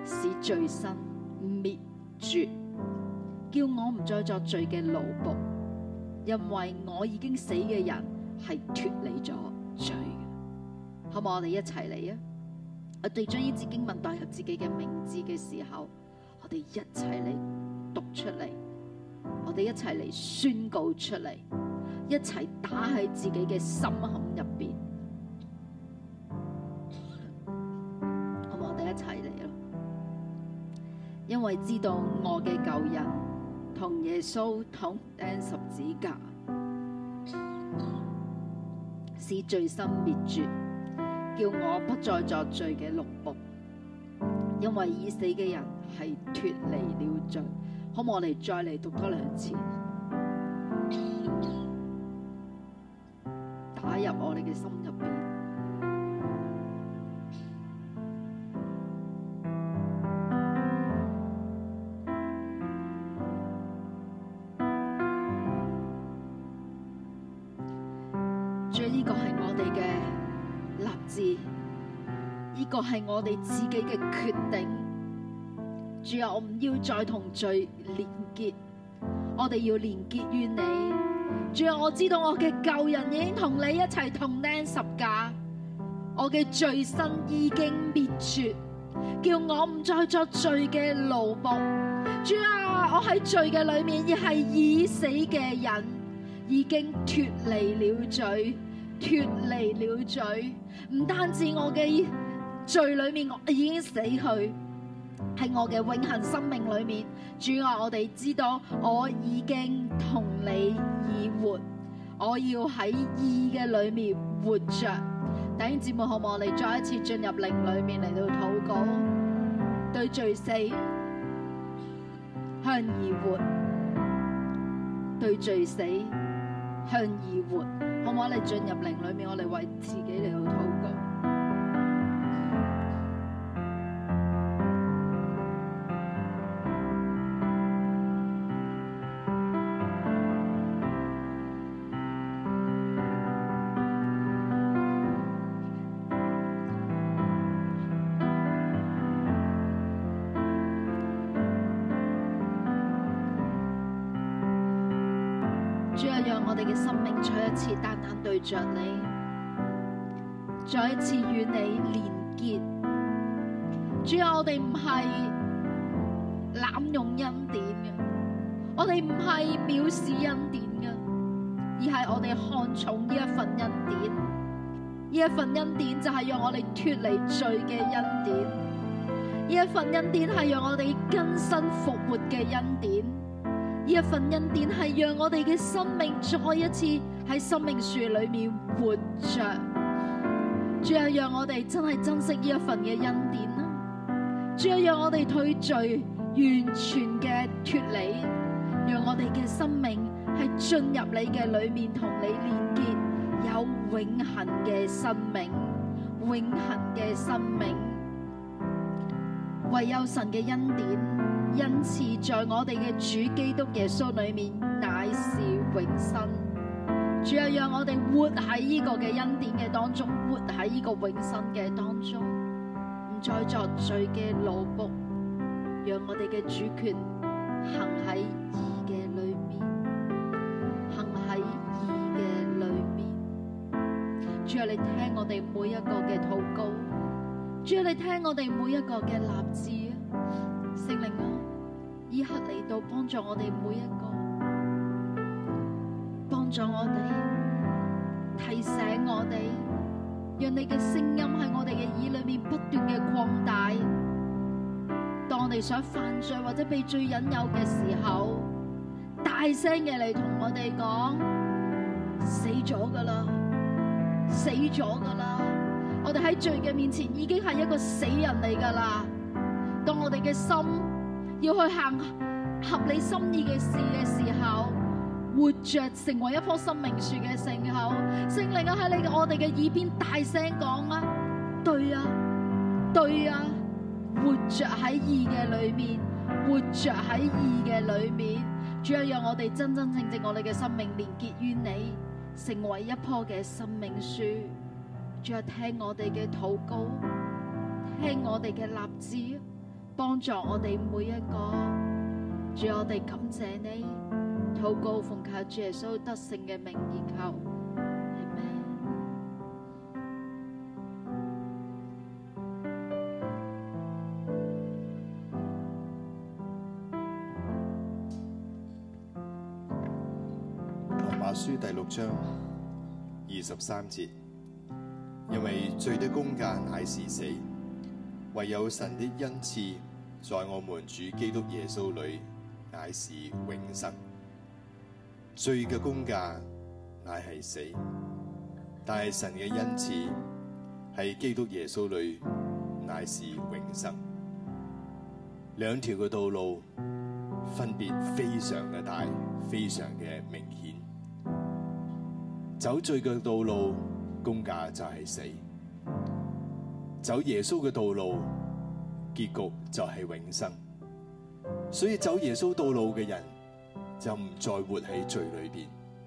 使罪身滅絕，叫我唔再作罪嘅奴僕，因為我已經死嘅人係脫離咗罪嘅。好唔好？我哋一齊嚟啊！我哋將呢節經文代入自己嘅名字嘅時候，我哋一齊嚟讀出嚟，我哋一齊嚟宣告出嚟，一齊打喺自己嘅心坎入邊。好唔好？我哋一齊嚟咯！因為知道我嘅舊人同耶穌同釘十字架，使罪身滅絕，叫我不再作罪嘅奴僕，因為已死嘅人係脫離了罪。好唔好？我哋再嚟讀多兩次，打入我哋嘅心入邊。主，呢個係我哋嘅立志，呢個係我哋自己嘅決定。主啊，我唔要再同罪連結，我哋要連結於你。主啊，我知道我嘅舊人已經同你一齊同釘十架，我嘅罪身已經滅絕，叫我唔再作罪嘅奴僕。主啊，我喺罪嘅裏面亦係已死嘅人，已經脫離了罪，脫離了罪。唔單止我嘅罪裏面我已經死去，喺我嘅永恆生命裏面，主啊，我哋知道我已經同你已活，我要喺義嘅裏面活着。弟兄姊妹，好唔好？我哋再一次進入靈裏面嚟到禱告，對罪死，向義活，對罪死，向義活。好唔好？我哋進入靈裏面，我哋為自己嚟到禱告。主啊，讓我哋嘅生命再一次單單對着你，再一次與你連結。主啊，我哋唔係濫用恩典嘅，我哋唔係藐視恩典嘅，而係我哋看重呢一份恩典。呢一份恩典就係讓我哋脫離罪嘅恩典，呢一份恩典係讓我哋更新復活嘅恩典。呢一份恩典係讓我哋嘅生命再一次喺生命樹裏面活着。主啊，讓我哋真係珍惜呢一份嘅恩典啦。主啊，讓我哋對罪完全嘅脫離，讓我哋嘅生命係進入你嘅裏面同你連結，有永恆嘅生命，永恆嘅生命。唯有神嘅恩典恩賜在我哋嘅主基督耶穌裏面乃是永生。主啊，讓我哋活喺呢個嘅恩典嘅當中，活喺呢個永生嘅當中，唔再作罪嘅奴僕，讓我哋嘅主權行喺義嘅裏面，行喺義嘅裏面。主啊，你聽我哋每一個嘅禱告，主啊，你聽我哋每一個嘅立志啊，聖靈啊，依刻嚟到幫助我哋每一個，幫助我哋，提醒我哋，讓你嘅聲音喺我哋嘅耳裏面不斷嘅擴大。當我哋想犯罪或者被罪引誘嘅時候，大聲嘅嚟同我哋講：死咗噶啦，死咗噶啦！我哋喺罪嘅面前已經係一個死人嚟噶啦。當我哋嘅心要去行合你心意嘅事嘅時候，活着成為一棵生命樹嘅時候，聖靈啊，喺我哋嘅耳邊大聲講啊，對啊，對啊，活着喺義嘅裏面，活着喺義嘅裏面。主要讓我哋真真正正我哋嘅生命連結於你，成為一棵嘅生命樹。主要聽我哋嘅禱告，聽我哋嘅立志， 幫助我哋每一個。主，我哋感謝你，禱告奉靠主耶穌得勝嘅名而求。 羅馬書第6章23節，因為罪的工價乃是死，唯有神的恩賜在我們主基督耶穌裏乃是永生。罪嘅工價乃係死，但係神嘅恩賜喺基督耶穌裏乃是永生。兩條嘅道路分別非常嘅大，非常嘅明顯。走罪嘅道路，工價就係死；走耶穌嘅道路，結局就係永生。所以走耶穌道路嘅人就唔再活喺罪裏邊，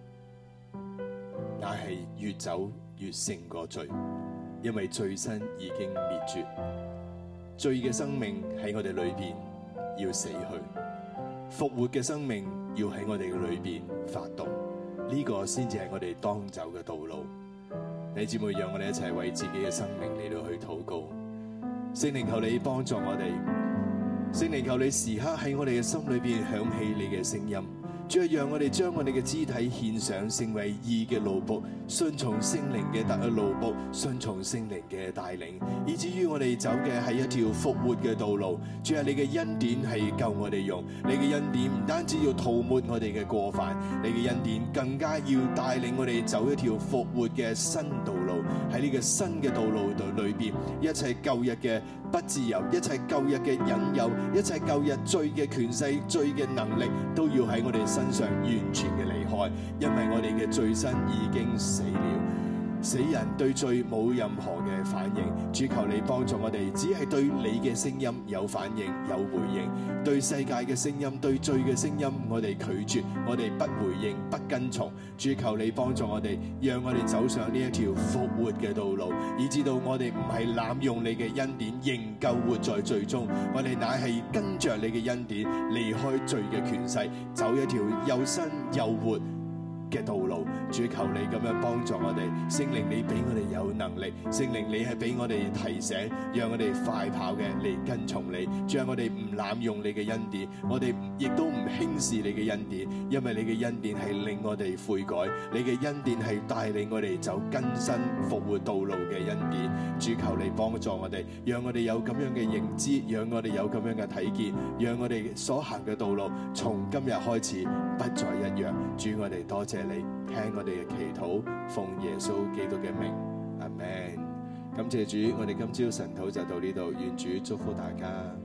乃係越走越勝過罪，因為罪身已經滅絕，罪嘅生命喺我哋裏邊要死去，復活嘅生命要喺我哋嘅裏邊發動。呢個先至係我哋當走嘅道路。弟兄姊妹，讓我哋一齊為自己嘅生命嚟到去禱告。聖靈，求你幫助我哋。聖靈，求你時刻喺我哋嘅心裏邊響起你嘅聲音。主啊，讓我哋將我哋嘅肢體獻上，成為義嘅奴僕，順從聖靈嘅奴僕，順從聖靈嘅帶領，以至於我哋走嘅係一條復活嘅道路。主啊，你嘅恩典係夠我哋用，你嘅恩典唔單止要塗抹我哋嘅過犯，你嘅恩典更加要帶領我哋走一條復活嘅新道路。喺呢個新嘅道路度裏邊，一切舊日嘅不自由，一切舊日嘅引誘，一切舊日罪嘅權勢、罪嘅能力，都要喺我哋身上完全嘅離開，因為我哋嘅罪身已經死了。死人對罪冇任何嘅反應，主求你幫助我哋，只係對你嘅聲音有反應有回應，對世界嘅聲音、對罪嘅聲音，我哋拒絕，我哋不回應、不跟從。主求你幫助我哋，讓我哋走上呢一條復活嘅道路，以至到我哋唔係濫用你嘅恩典，仍舊活在罪中，我哋乃係跟着你嘅恩典，離開罪嘅權勢，走一條又新又活嘅道路。主求你咁樣幫助我哋，聖靈你俾我哋有能力，聖靈你係俾我哋提醒，讓我哋快跑嘅嚟跟從你。主啊，我哋唔濫用你嘅恩典，我哋亦都唔輕視你嘅恩典，因為你嘅恩典係令我哋悔改，你嘅恩典係帶領我哋走更新復活道路嘅恩典。主求你幫助我哋，讓我哋有咁樣嘅認知，讓我哋有咁樣嘅睇見，讓我哋所行嘅道路從今日開始不再一樣。主，我哋多謝你，聽我哋嘅祈禱，奉耶穌基督嘅名，阿們。感謝主，我哋今朝晨禱就到呢度，願主祝福大家。